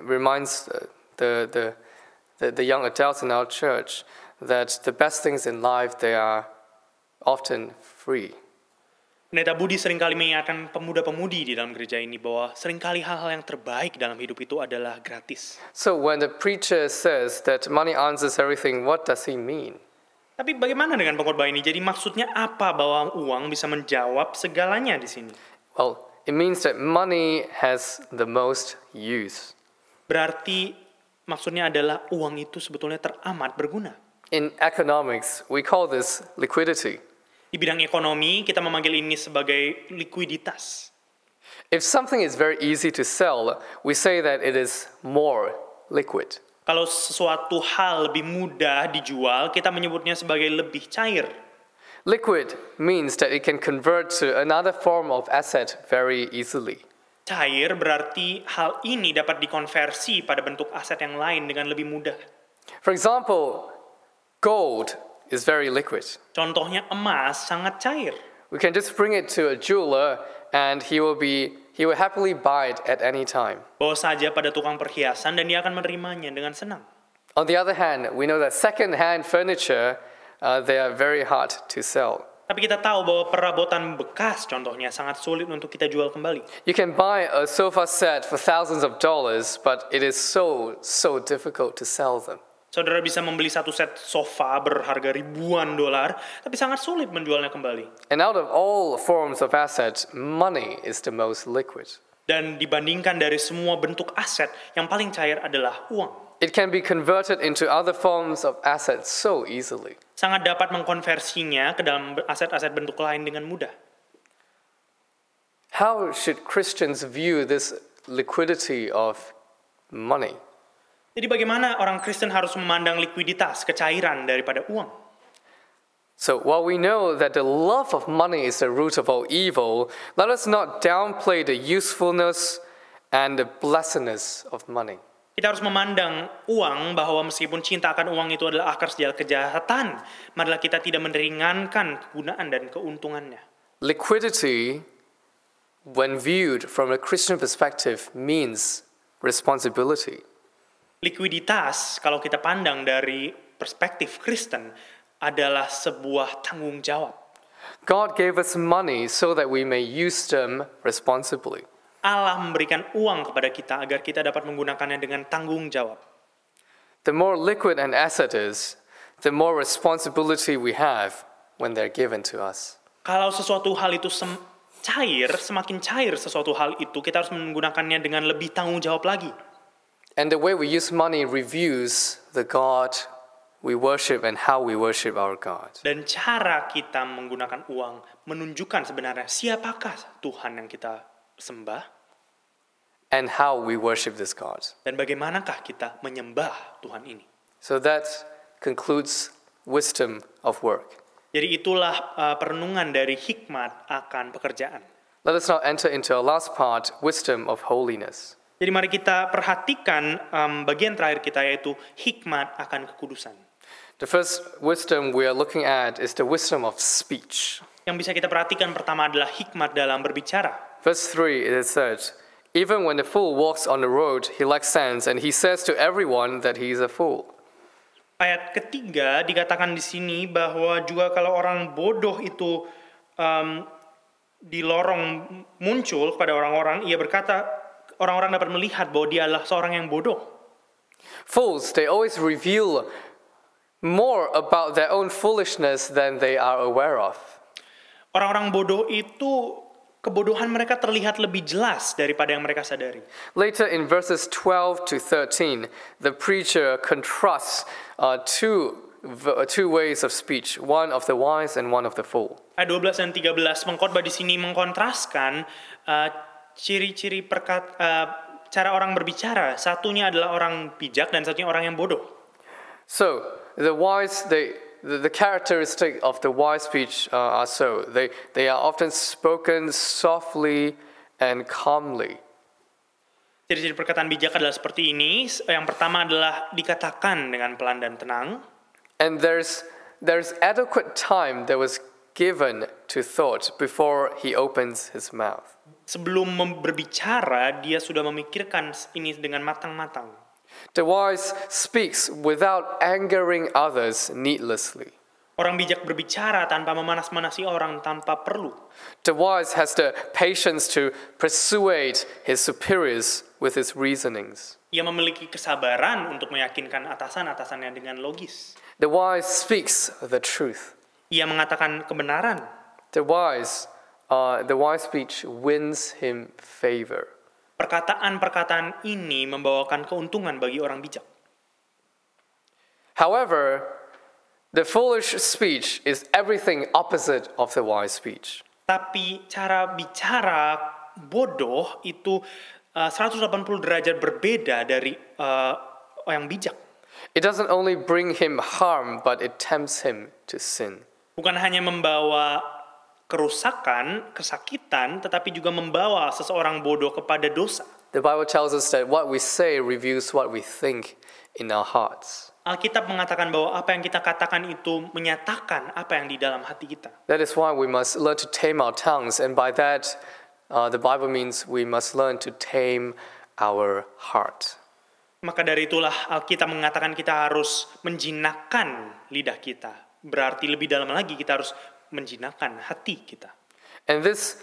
the young adults in our church that the best things in life, they are often free. Pendeta Budi seringkali mengingatkan pemuda-pemudi di dalam gereja ini bahwa seringkali hal-hal yang terbaik dalam hidup itu adalah gratis. So when the preacher says that money answers everything, what does he mean? Tapi bagaimana dengan pengkhotbah ini? Jadi maksudnya apa bahwa uang bisa menjawab segalanya di sini? Well, it means that money has the most use. Berarti maksudnya adalah uang itu sebetulnya teramat berguna. In economics, we call this liquidity. Di bidang ekonomi, kita memanggil ini sebagai likuiditas. If something is very easy to sell, we say that it is more liquid. Kalau sesuatu hal lebih mudah dijual, kita menyebutnya sebagai lebih cair. Liquid means that it can convert to another form of asset very easily. Cair berarti hal ini dapat dikonversi pada bentuk aset yang lain dengan lebih mudah. For example, gold is very liquid. Contohnya emas sangat cair. We can just bring it to a jeweler and he will happily buy it at any time. Bawa saja pada tukang perhiasan dan dia akan menerimanya dengan senang. On the other hand, we know that second-hand furniture, they are very hard to sell. Tapi kita tahu bahwa perabotan bekas contohnya sangat sulit untuk kita jual kembali. You can buy a sofa set for thousands of dollars, but it is so difficult to sell them. Saudara bisa membeli satu set sofa berharga ribuan dolar, tapi sangat sulit menjualnya kembali. And out of all forms of assets, money is the most liquid. Dan dibandingkan dari semua bentuk aset, yang paling cair adalah uang. It can be converted into other forms of assets so easily. Sangat dapat mengkonversinya ke dalam aset-aset bentuk lain dengan mudah. How should Christians view this liquidity of money? Jadi bagaimana orang Kristen harus memandang likuiditas, kecairan daripada uang? So while we know that the love of money is the root of all evil, let us not downplay the usefulness and the blessedness of money. Kita harus memandang uang bahwa meskipun cinta akan uang itu adalah akar segala kejahatan, marilah kita tidak meringankan kegunaan dan keuntungannya. Liquidity, when viewed from a Christian perspective, means responsibility. Likuiditas, kalau kita pandang dari perspektif Kristen, adalah sebuah tanggung jawab. God gave us money so that we may use them responsibly. Allah memberikan uang kepada kita agar kita dapat menggunakannya dengan tanggung jawab. The more liquid an asset is, the more responsibility we have when they're given to us. Kalau sesuatu hal itu semakin cair sesuatu hal itu, kita harus menggunakannya dengan lebih tanggung jawab lagi. And the way we use money reveals the God we worship and how we worship our God. Dan cara kita menggunakan uang menunjukkan sebenarnya siapakah Tuhan yang kita sembah And how we worship this God. dan bagaimanakah kita menyembah Tuhan ini. So that concludes wisdom of work. Jadi itulah perenungan dari hikmat akan pekerjaan. Let us now enter into our last part, wisdom of holiness. Jadi mari kita perhatikan bagian terakhir kita, yaitu hikmat akan kekudusan. The first wisdom we are looking at is the wisdom of speech. Yang bisa kita perhatikan pertama adalah hikmat dalam berbicara. Verse 3, it is said, even when the fool walks on the road, he lacks sense, and he says to everyone that he is a fool. Ayat ketiga dikatakan di sini bahwa juga kalau orang bodoh itu di lorong muncul kepada orang-orang, ia berkata, orang-orang dapat melihat bahwa dia adalah seorang yang bodoh. Fools, they always reveal more about their own foolishness than they are aware of. Orang-orang bodoh itu, kebodohan mereka terlihat lebih jelas daripada yang mereka sadari. Later in verses 12 to 13, the preacher contrasts two ways of speech, one of the wise and one of the fool. Ayat 12 dan 13 pengkhotbah di sini mengkontraskan ciri-ciri cara orang berbicara. Satunya adalah orang bijak dan satunya orang yang bodoh. So, the wise, the characteristic of the wise speech are so. They are often spoken softly and calmly. Ciri-ciri perkataan bijak adalah seperti ini. Yang pertama adalah dikatakan dengan pelan dan tenang. And there's adequate time that was given to thought before he opens his mouth. Sebelum berbicara, dia sudah memikirkan ini dengan matang-matang. The wise speaks without angering others needlessly. Orang bijak berbicara tanpa memanas-manasi orang tanpa perlu. The wise has the patience to persuade his superiors with his reasonings. Ia memiliki kesabaran untuk meyakinkan atasan-atasannya dengan logis. The wise speaks the truth. Ia mengatakan kebenaran. The wise speech wins him favor. Perkataan-perkataan ini membawakan keuntungan bagi orang bijak. However, the foolish speech is everything opposite of the wise speech. Tapi cara bicara bodoh itu 180 derajat berbeda dari yang bijak. It doesn't only bring him harm, but it tempts him to sin. Bukan hanya membawa kerusakan, kesakitan, tetapi juga membawa seseorang bodoh kepada dosa. The Bible tells us that what we say reveals what we think in our hearts. Alkitab mengatakan bahwa apa yang kita katakan itu menyatakan apa yang di dalam hati kita. That is why we must learn to tame our tongues, and by that, the Bible means we must learn to tame our heart. Maka dari itulah Alkitab mengatakan kita harus menjinakkan lidah kita. Berarti lebih dalam lagi kita harus menjinakkan hati kita. And this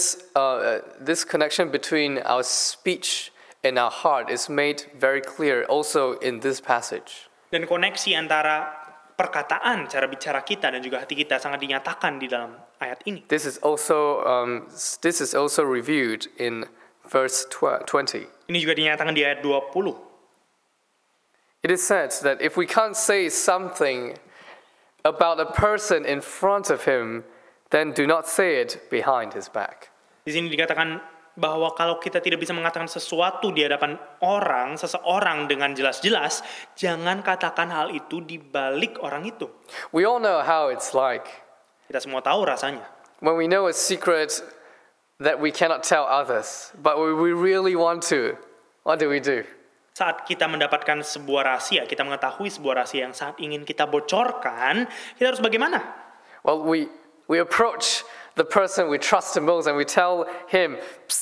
connection between our speech and our heart is made very clear also in this passage. Dan koneksi antara perkataan, cara bicara kita dan juga hati kita sangat dinyatakan di dalam ayat ini. This is also reviewed in verse 20. Ini juga dinyatakan di ayat 20. It is said that if we can't say something about a person in front of him, then do not say it behind his back. Di sini dikatakan bahwa kalau kita tidak bisa mengatakan sesuatu di hadapan seseorang dengan jelas-jelas, jangan katakan hal itu di balik orang itu. We all know how it's like. Kita semua tahu rasanya. When we know a secret that we cannot tell others, but we really want to, what do we do? Saat kita mendapatkan sebuah rahasia, kita mengetahui sebuah rahasia yang saat ingin kita bocorkan, kita harus bagaimana? Well, we approach the person we trust the most and we tell him,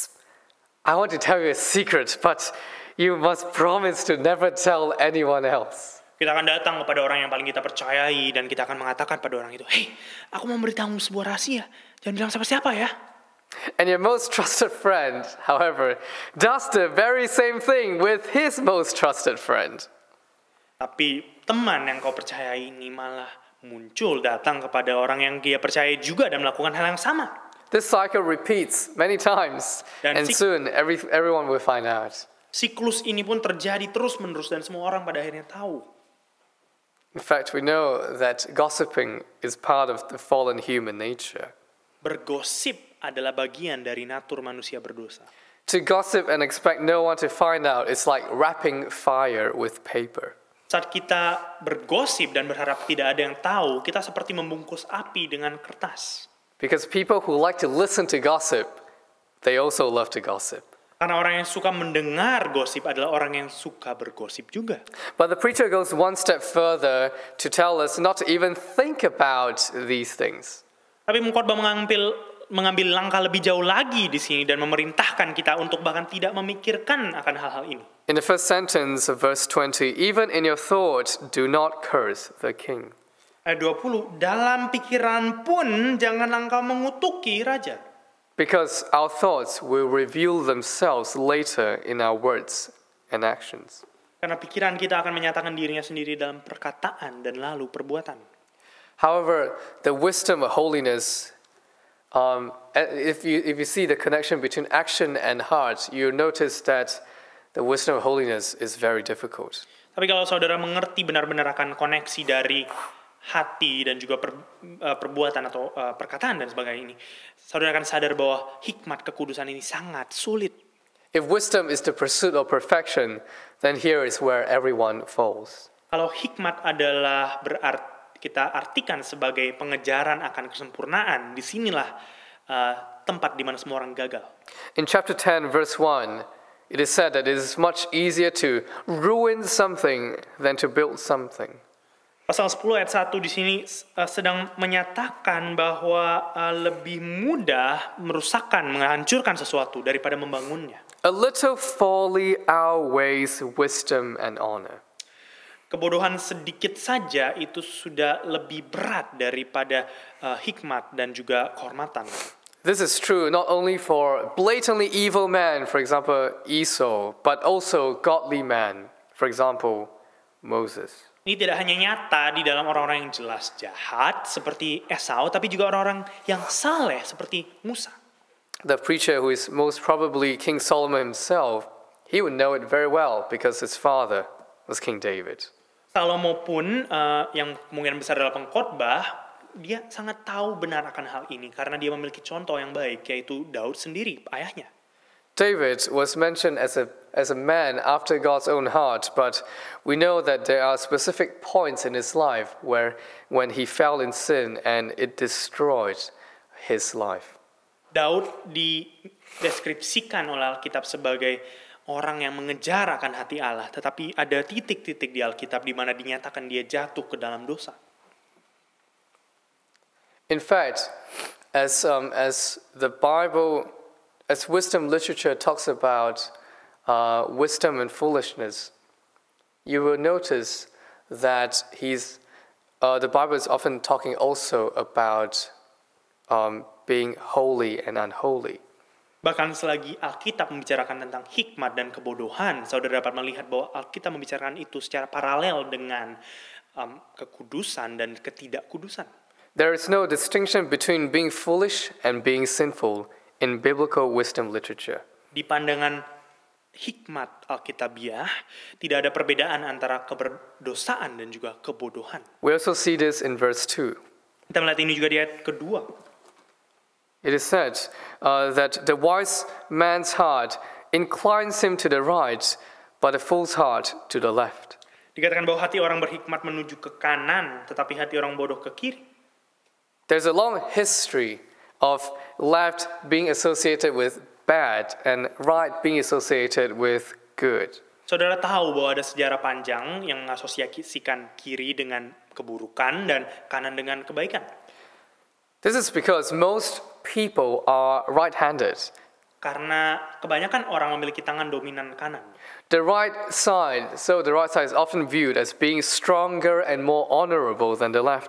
I want to tell you a secret, but you must promise to never tell anyone else. Kita akan datang kepada orang yang paling kita percayai dan kita akan mengatakan pada orang itu, hey, aku mau memberitahu sebuah rahasia, jangan bilang siapa-siapa ya. And your most trusted friend, however, does the very same thing with his most trusted friend. Tapi teman yang kau percayai ini malah muncul datang kepada orang yang dia percayai juga dan melakukan hal yang sama. This cycle repeats many times, Dan and soon everyone will find out. Siklus ini pun terjadi terus-menerus dan semua orang pada akhirnya tahu. In fact, we know that gossiping is part of the fallen human nature. Bergosip adalah bagian dari natur manusia berdosa. To gossip and expect no one to find out is like wrapping fire with paper. Saat kita bergosip dan berharap tidak ada yang tahu, kita seperti membungkus api dengan kertas. Because people who like to listen to gossip, they also love to gossip. Karena orang yang suka mendengar gosip adalah orang yang suka bergosip juga. But the preacher goes one step further to tell us not to even think about these things. Tapi pengkhotbah mengambil langkah lebih jauh lagi di sini dan memerintahkan kita untuk bahkan tidak memikirkan akan hal-hal ini. In the first sentence of verse 20, even in your thoughts, do not curse the king. Ayat 20, dalam pikiran pun jangan engkau mengutuki raja. Because our thoughts will reveal themselves later in our words and actions. Karena pikiran kita akan menyatakan dirinya sendiri dalam perkataan dan lalu perbuatan. However, the wisdom of holiness, if you see the connection between action and heart, you notice that the wisdom of holiness is very difficult. Tapi kalau saudara mengerti benar-benar akan koneksi dari hati dan juga perbuatan atau perkataan dan sebagainya ini, saudara akan sadar bahwa hikmat kekudusan ini sangat sulit. If wisdom is the pursuit of perfection, then here is where everyone falls. Kalau hikmat adalah kita artikan sebagai pengejaran akan kesempurnaan, disinilah tempat di mana semua orang gagal. In chapter 10, verse 1, it is said that it is much easier to ruin something than to build something. Pasal 10 ayat 1 di sini sedang menyatakan bahwa lebih mudah merusakkan, menghancurkan sesuatu daripada membangunnya. A little folly outweighs wisdom and honor. Kebodohan sedikit saja itu sudah lebih berat daripada hikmat dan juga kehormatan. This is true not only for blatantly evil men, for example, Esau, but also godly men, for example, Moses. Ini tidak hanya nyata di dalam orang-orang yang jelas jahat seperti Esau, tapi juga orang-orang yang saleh seperti Musa. The preacher who is most probably King Solomon himself, he would know it very well because his father was King David. Salomo pun yang kemungkinan besar adalah pengkhotbah, dia sangat tahu benar akan hal ini karena dia memiliki contoh yang baik, yaitu Daud sendiri, ayahnya. David was mentioned as a man after God's own heart, but we know that there are specific points in his life where when he fell in sin and it destroyed his life. Daud dideskripsikan oleh Alkitab sebagai orang yang mengejar akan hati Allah, tetapi ada titik-titik di Alkitab di mana dinyatakan dia jatuh ke dalam dosa. In fact, as the Bible, as wisdom literature talks about wisdom and foolishness, you will notice that the Bible is often talking also about being holy and unholy. Bahkan selagi Alkitab membicarakan tentang hikmat dan kebodohan, saudara dapat melihat bahwa Alkitab membicarakan itu secara paralel dengan kekudusan dan ketidakkudusan. There is no distinction between being foolish and being sinful in biblical wisdom literature. Di pandangan hikmat Alkitabiah, tidak ada perbedaan antara keberdosaan dan juga kebodohan. We also see this in verse 2. Kita melihat ini juga di ayat kedua. It is said that the wise man's heart inclines him to the right, but the fool's heart to the left. Dikatakan bahwa hati orang berhikmat menuju ke kanan, tetapi hati orang bodoh ke kiri. There's a long history of left being associated with bad and right being associated with good. Saudara tahu bahwa ada sejarah panjang yang mengasosiasikan kiri dengan keburukan dan kanan dengan kebaikan. This is because most people are right-handed. Karena kebanyakan orang memiliki tangan dominan kanan. The right side is often viewed as being stronger and more honorable than the left.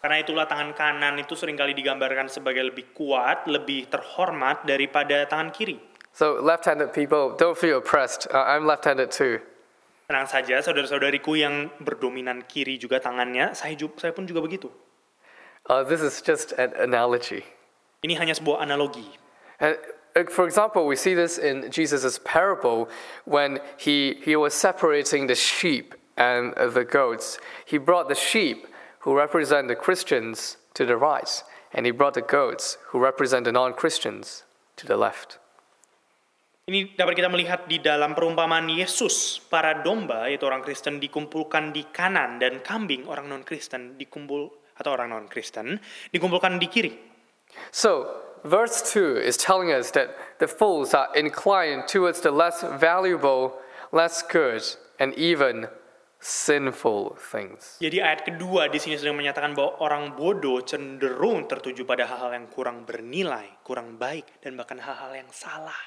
Karena itulah tangan kanan itu seringkali digambarkan sebagai lebih kuat, lebih terhormat daripada tangan kiri. So left-handed people, don't feel oppressed. I'm left-handed too. Tenang saja, saudara-saudariku yang berdominan kiri juga tangannya, saya pun juga begitu. This is just an analogy. Ini hanya sebuah analogi. And for example, we see this in Jesus' parable when he was separating the sheep and the goats. He brought the sheep who represent the Christians to the right, and he brought the goats who represent the non-Christians to the left. Ini dapat kita melihat di dalam perumpamaan Yesus. Para domba, yaitu orang Kristen, dikumpulkan di kanan, dan kambing, orang non-Kristen, dikumpulkan di kiri. So, verse 2 is telling us that the fools are inclined towards the less valuable, less good, and even sinful things. Jadi ayat kedua di sini sedang menyatakan bahwa orang bodoh cenderung tertuju pada hal-hal yang kurang bernilai, kurang baik, dan bahkan hal-hal yang salah.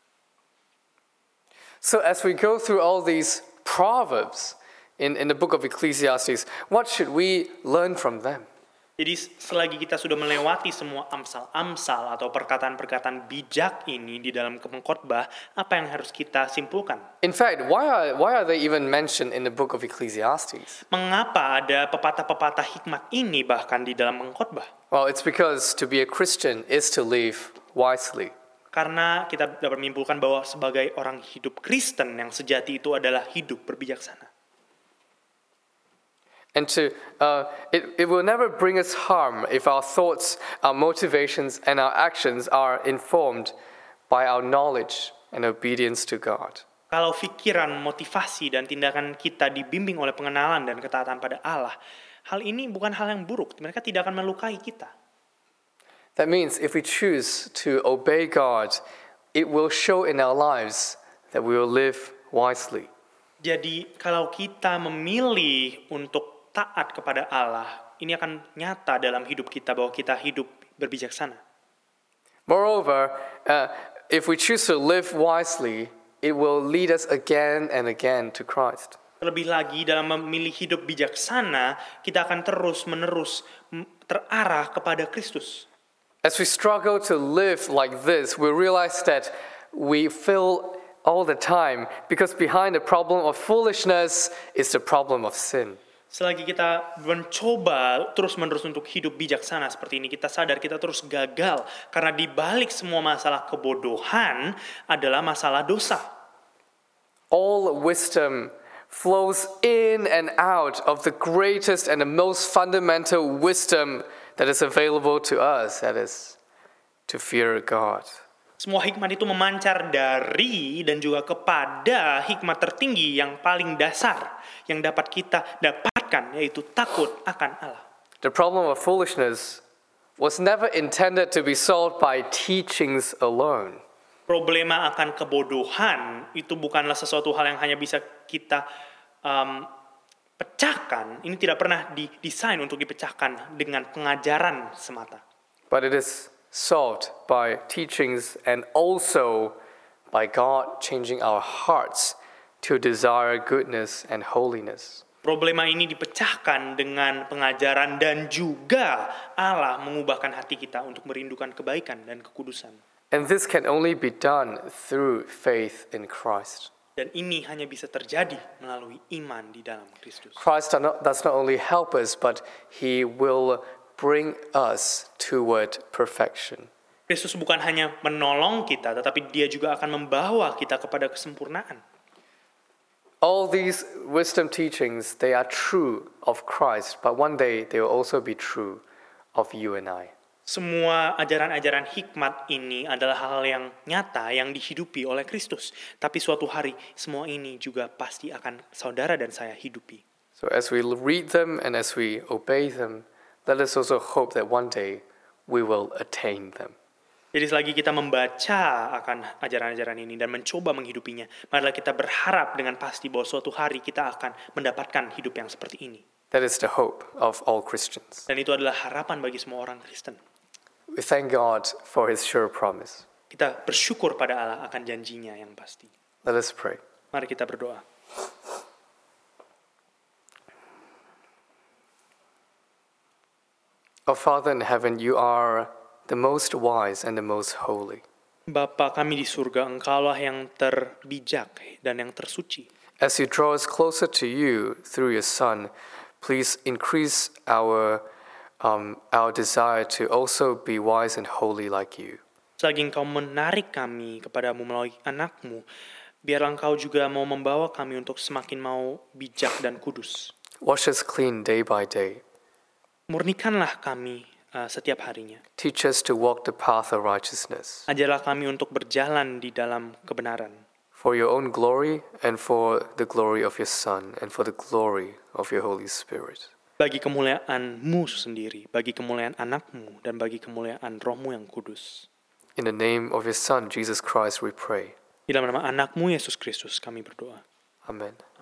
So as we go through all these proverbs in the book of Ecclesiastes, what should we learn from them? Jadi selagi kita sudah melewati semua amsal-amsal atau perkataan-perkataan bijak ini di dalam pengkhotbah, apa yang harus kita simpulkan? In fact, why are they even mentioned in the book of Ecclesiastes? Mengapa ada pepatah-pepatah hikmat ini bahkan di dalam pengkhotbah? Well, it's because to be a Christian is to live wisely. Karena kita dapat menyimpulkan bahwa sebagai orang hidup Kristen yang sejati itu adalah hidup berbijaksana. And it will never bring us harm if our thoughts, our motivations, and our actions are informed by our knowledge and obedience to God. Kalau pikiran, motivasi, dan tindakan kita dibimbing oleh pengenalan dan ketaatan pada Allah, hal ini bukan hal yang buruk. Mereka tidak akan melukai kita. That means if we choose to obey God, it will show in our lives that we will live wisely. Jadi kalau kita memilih untuk taat kepada Allah, ini akan nyata dalam hidup kita bahwa kita hidup berbijaksana. Moreover, if we choose to live wisely, it will lead us again and again to Christ. Lebih lagi dalam memilih hidup bijaksana, kita akan terus-menerus terarah kepada Kristus. As we struggle to live like this, we realize that we fail all the time because behind the problem of foolishness is the problem of sin. Selagi kita mencoba terus-menerus untuk hidup bijaksana seperti ini, kita sadar kita terus gagal. Karena di balik semua masalah kebodohan adalah masalah dosa. All wisdom flows in and out of the greatest and the most fundamental wisdom that is available to us, that is, to fear God. Semua hikmat itu memancar dari dan juga kepada hikmat tertinggi yang paling dasar yang dapat kita dapatkan, yaitu takut akan Allah. The problem of foolishness was never intended to be solved by teachings alone. Problema akan kebodohan itu bukanlah sesuatu hal yang hanya bisa kita pecahkan. Ini tidak pernah didesain untuk dipecahkan dengan pengajaran semata. But it is solved by teachings and also by God changing our hearts to desire goodness and holiness. Problema ini dipecahkan dengan pengajaran dan juga Allah mengubahkan hati kita untuk merindukan kebaikan dan kekudusan. And this can only be done through faith in Christ. Dan ini hanya bisa terjadi melalui iman di dalam Kristus. Christ does not only help us, but He will bring us toward perfection. Kristus bukan hanya menolong kita, tetapi Dia juga akan membawa kita kepada kesempurnaan. All these wisdom teachings, they are true of Christ, but one day they will also be true of you and I. Semua ajaran-ajaran hikmat ini adalah hal yang nyata yang dihidupi oleh Kristus. Tapi suatu hari semua ini juga pasti akan saudara dan saya hidupi. So as we read them and as we obey them, let us also hope that one day we will attain them. Jadi selagi kita membaca akan ajaran-ajaran ini dan mencoba menghidupinya, marilah kita berharap dengan pasti bahwa suatu hari kita akan mendapatkan hidup yang seperti ini. That is the hope of all Christians. Dan itu adalah harapan bagi semua orang Kristen. We thank God for His sure promise. Kita bersyukur pada Allah akan janjinya yang pasti. Let us pray. Mari kita berdoa. Our Father in heaven, you are the most wise and the most holy. Bapa kami di surga, Engkaulah yang terbijak dan yang tersuci. As you draw us closer to you through your Son, please increase our desire to also be wise and holy like you. Selagi Engkau menarik kami kepadamu melalui anak-Mu, biarlah Engkau juga mau membawa kami untuk semakin mau bijak dan kudus. Wash us clean day by day. Murnikanlah kami setiap harinya. Teach us to walk the path of righteousness. Ajarlah kami untuk berjalan di dalam kebenaran. For your own glory and for the glory of your Son and for the glory of your Holy Spirit. Bagi kemuliaan-Mu sendiri, bagi kemuliaan anak-Mu, dan bagi kemuliaan Roh-Mu yang kudus. In the name of your Son, Jesus Christ, we pray. Di dalam nama anak-Mu, Yesus Kristus, kami berdoa. Amen.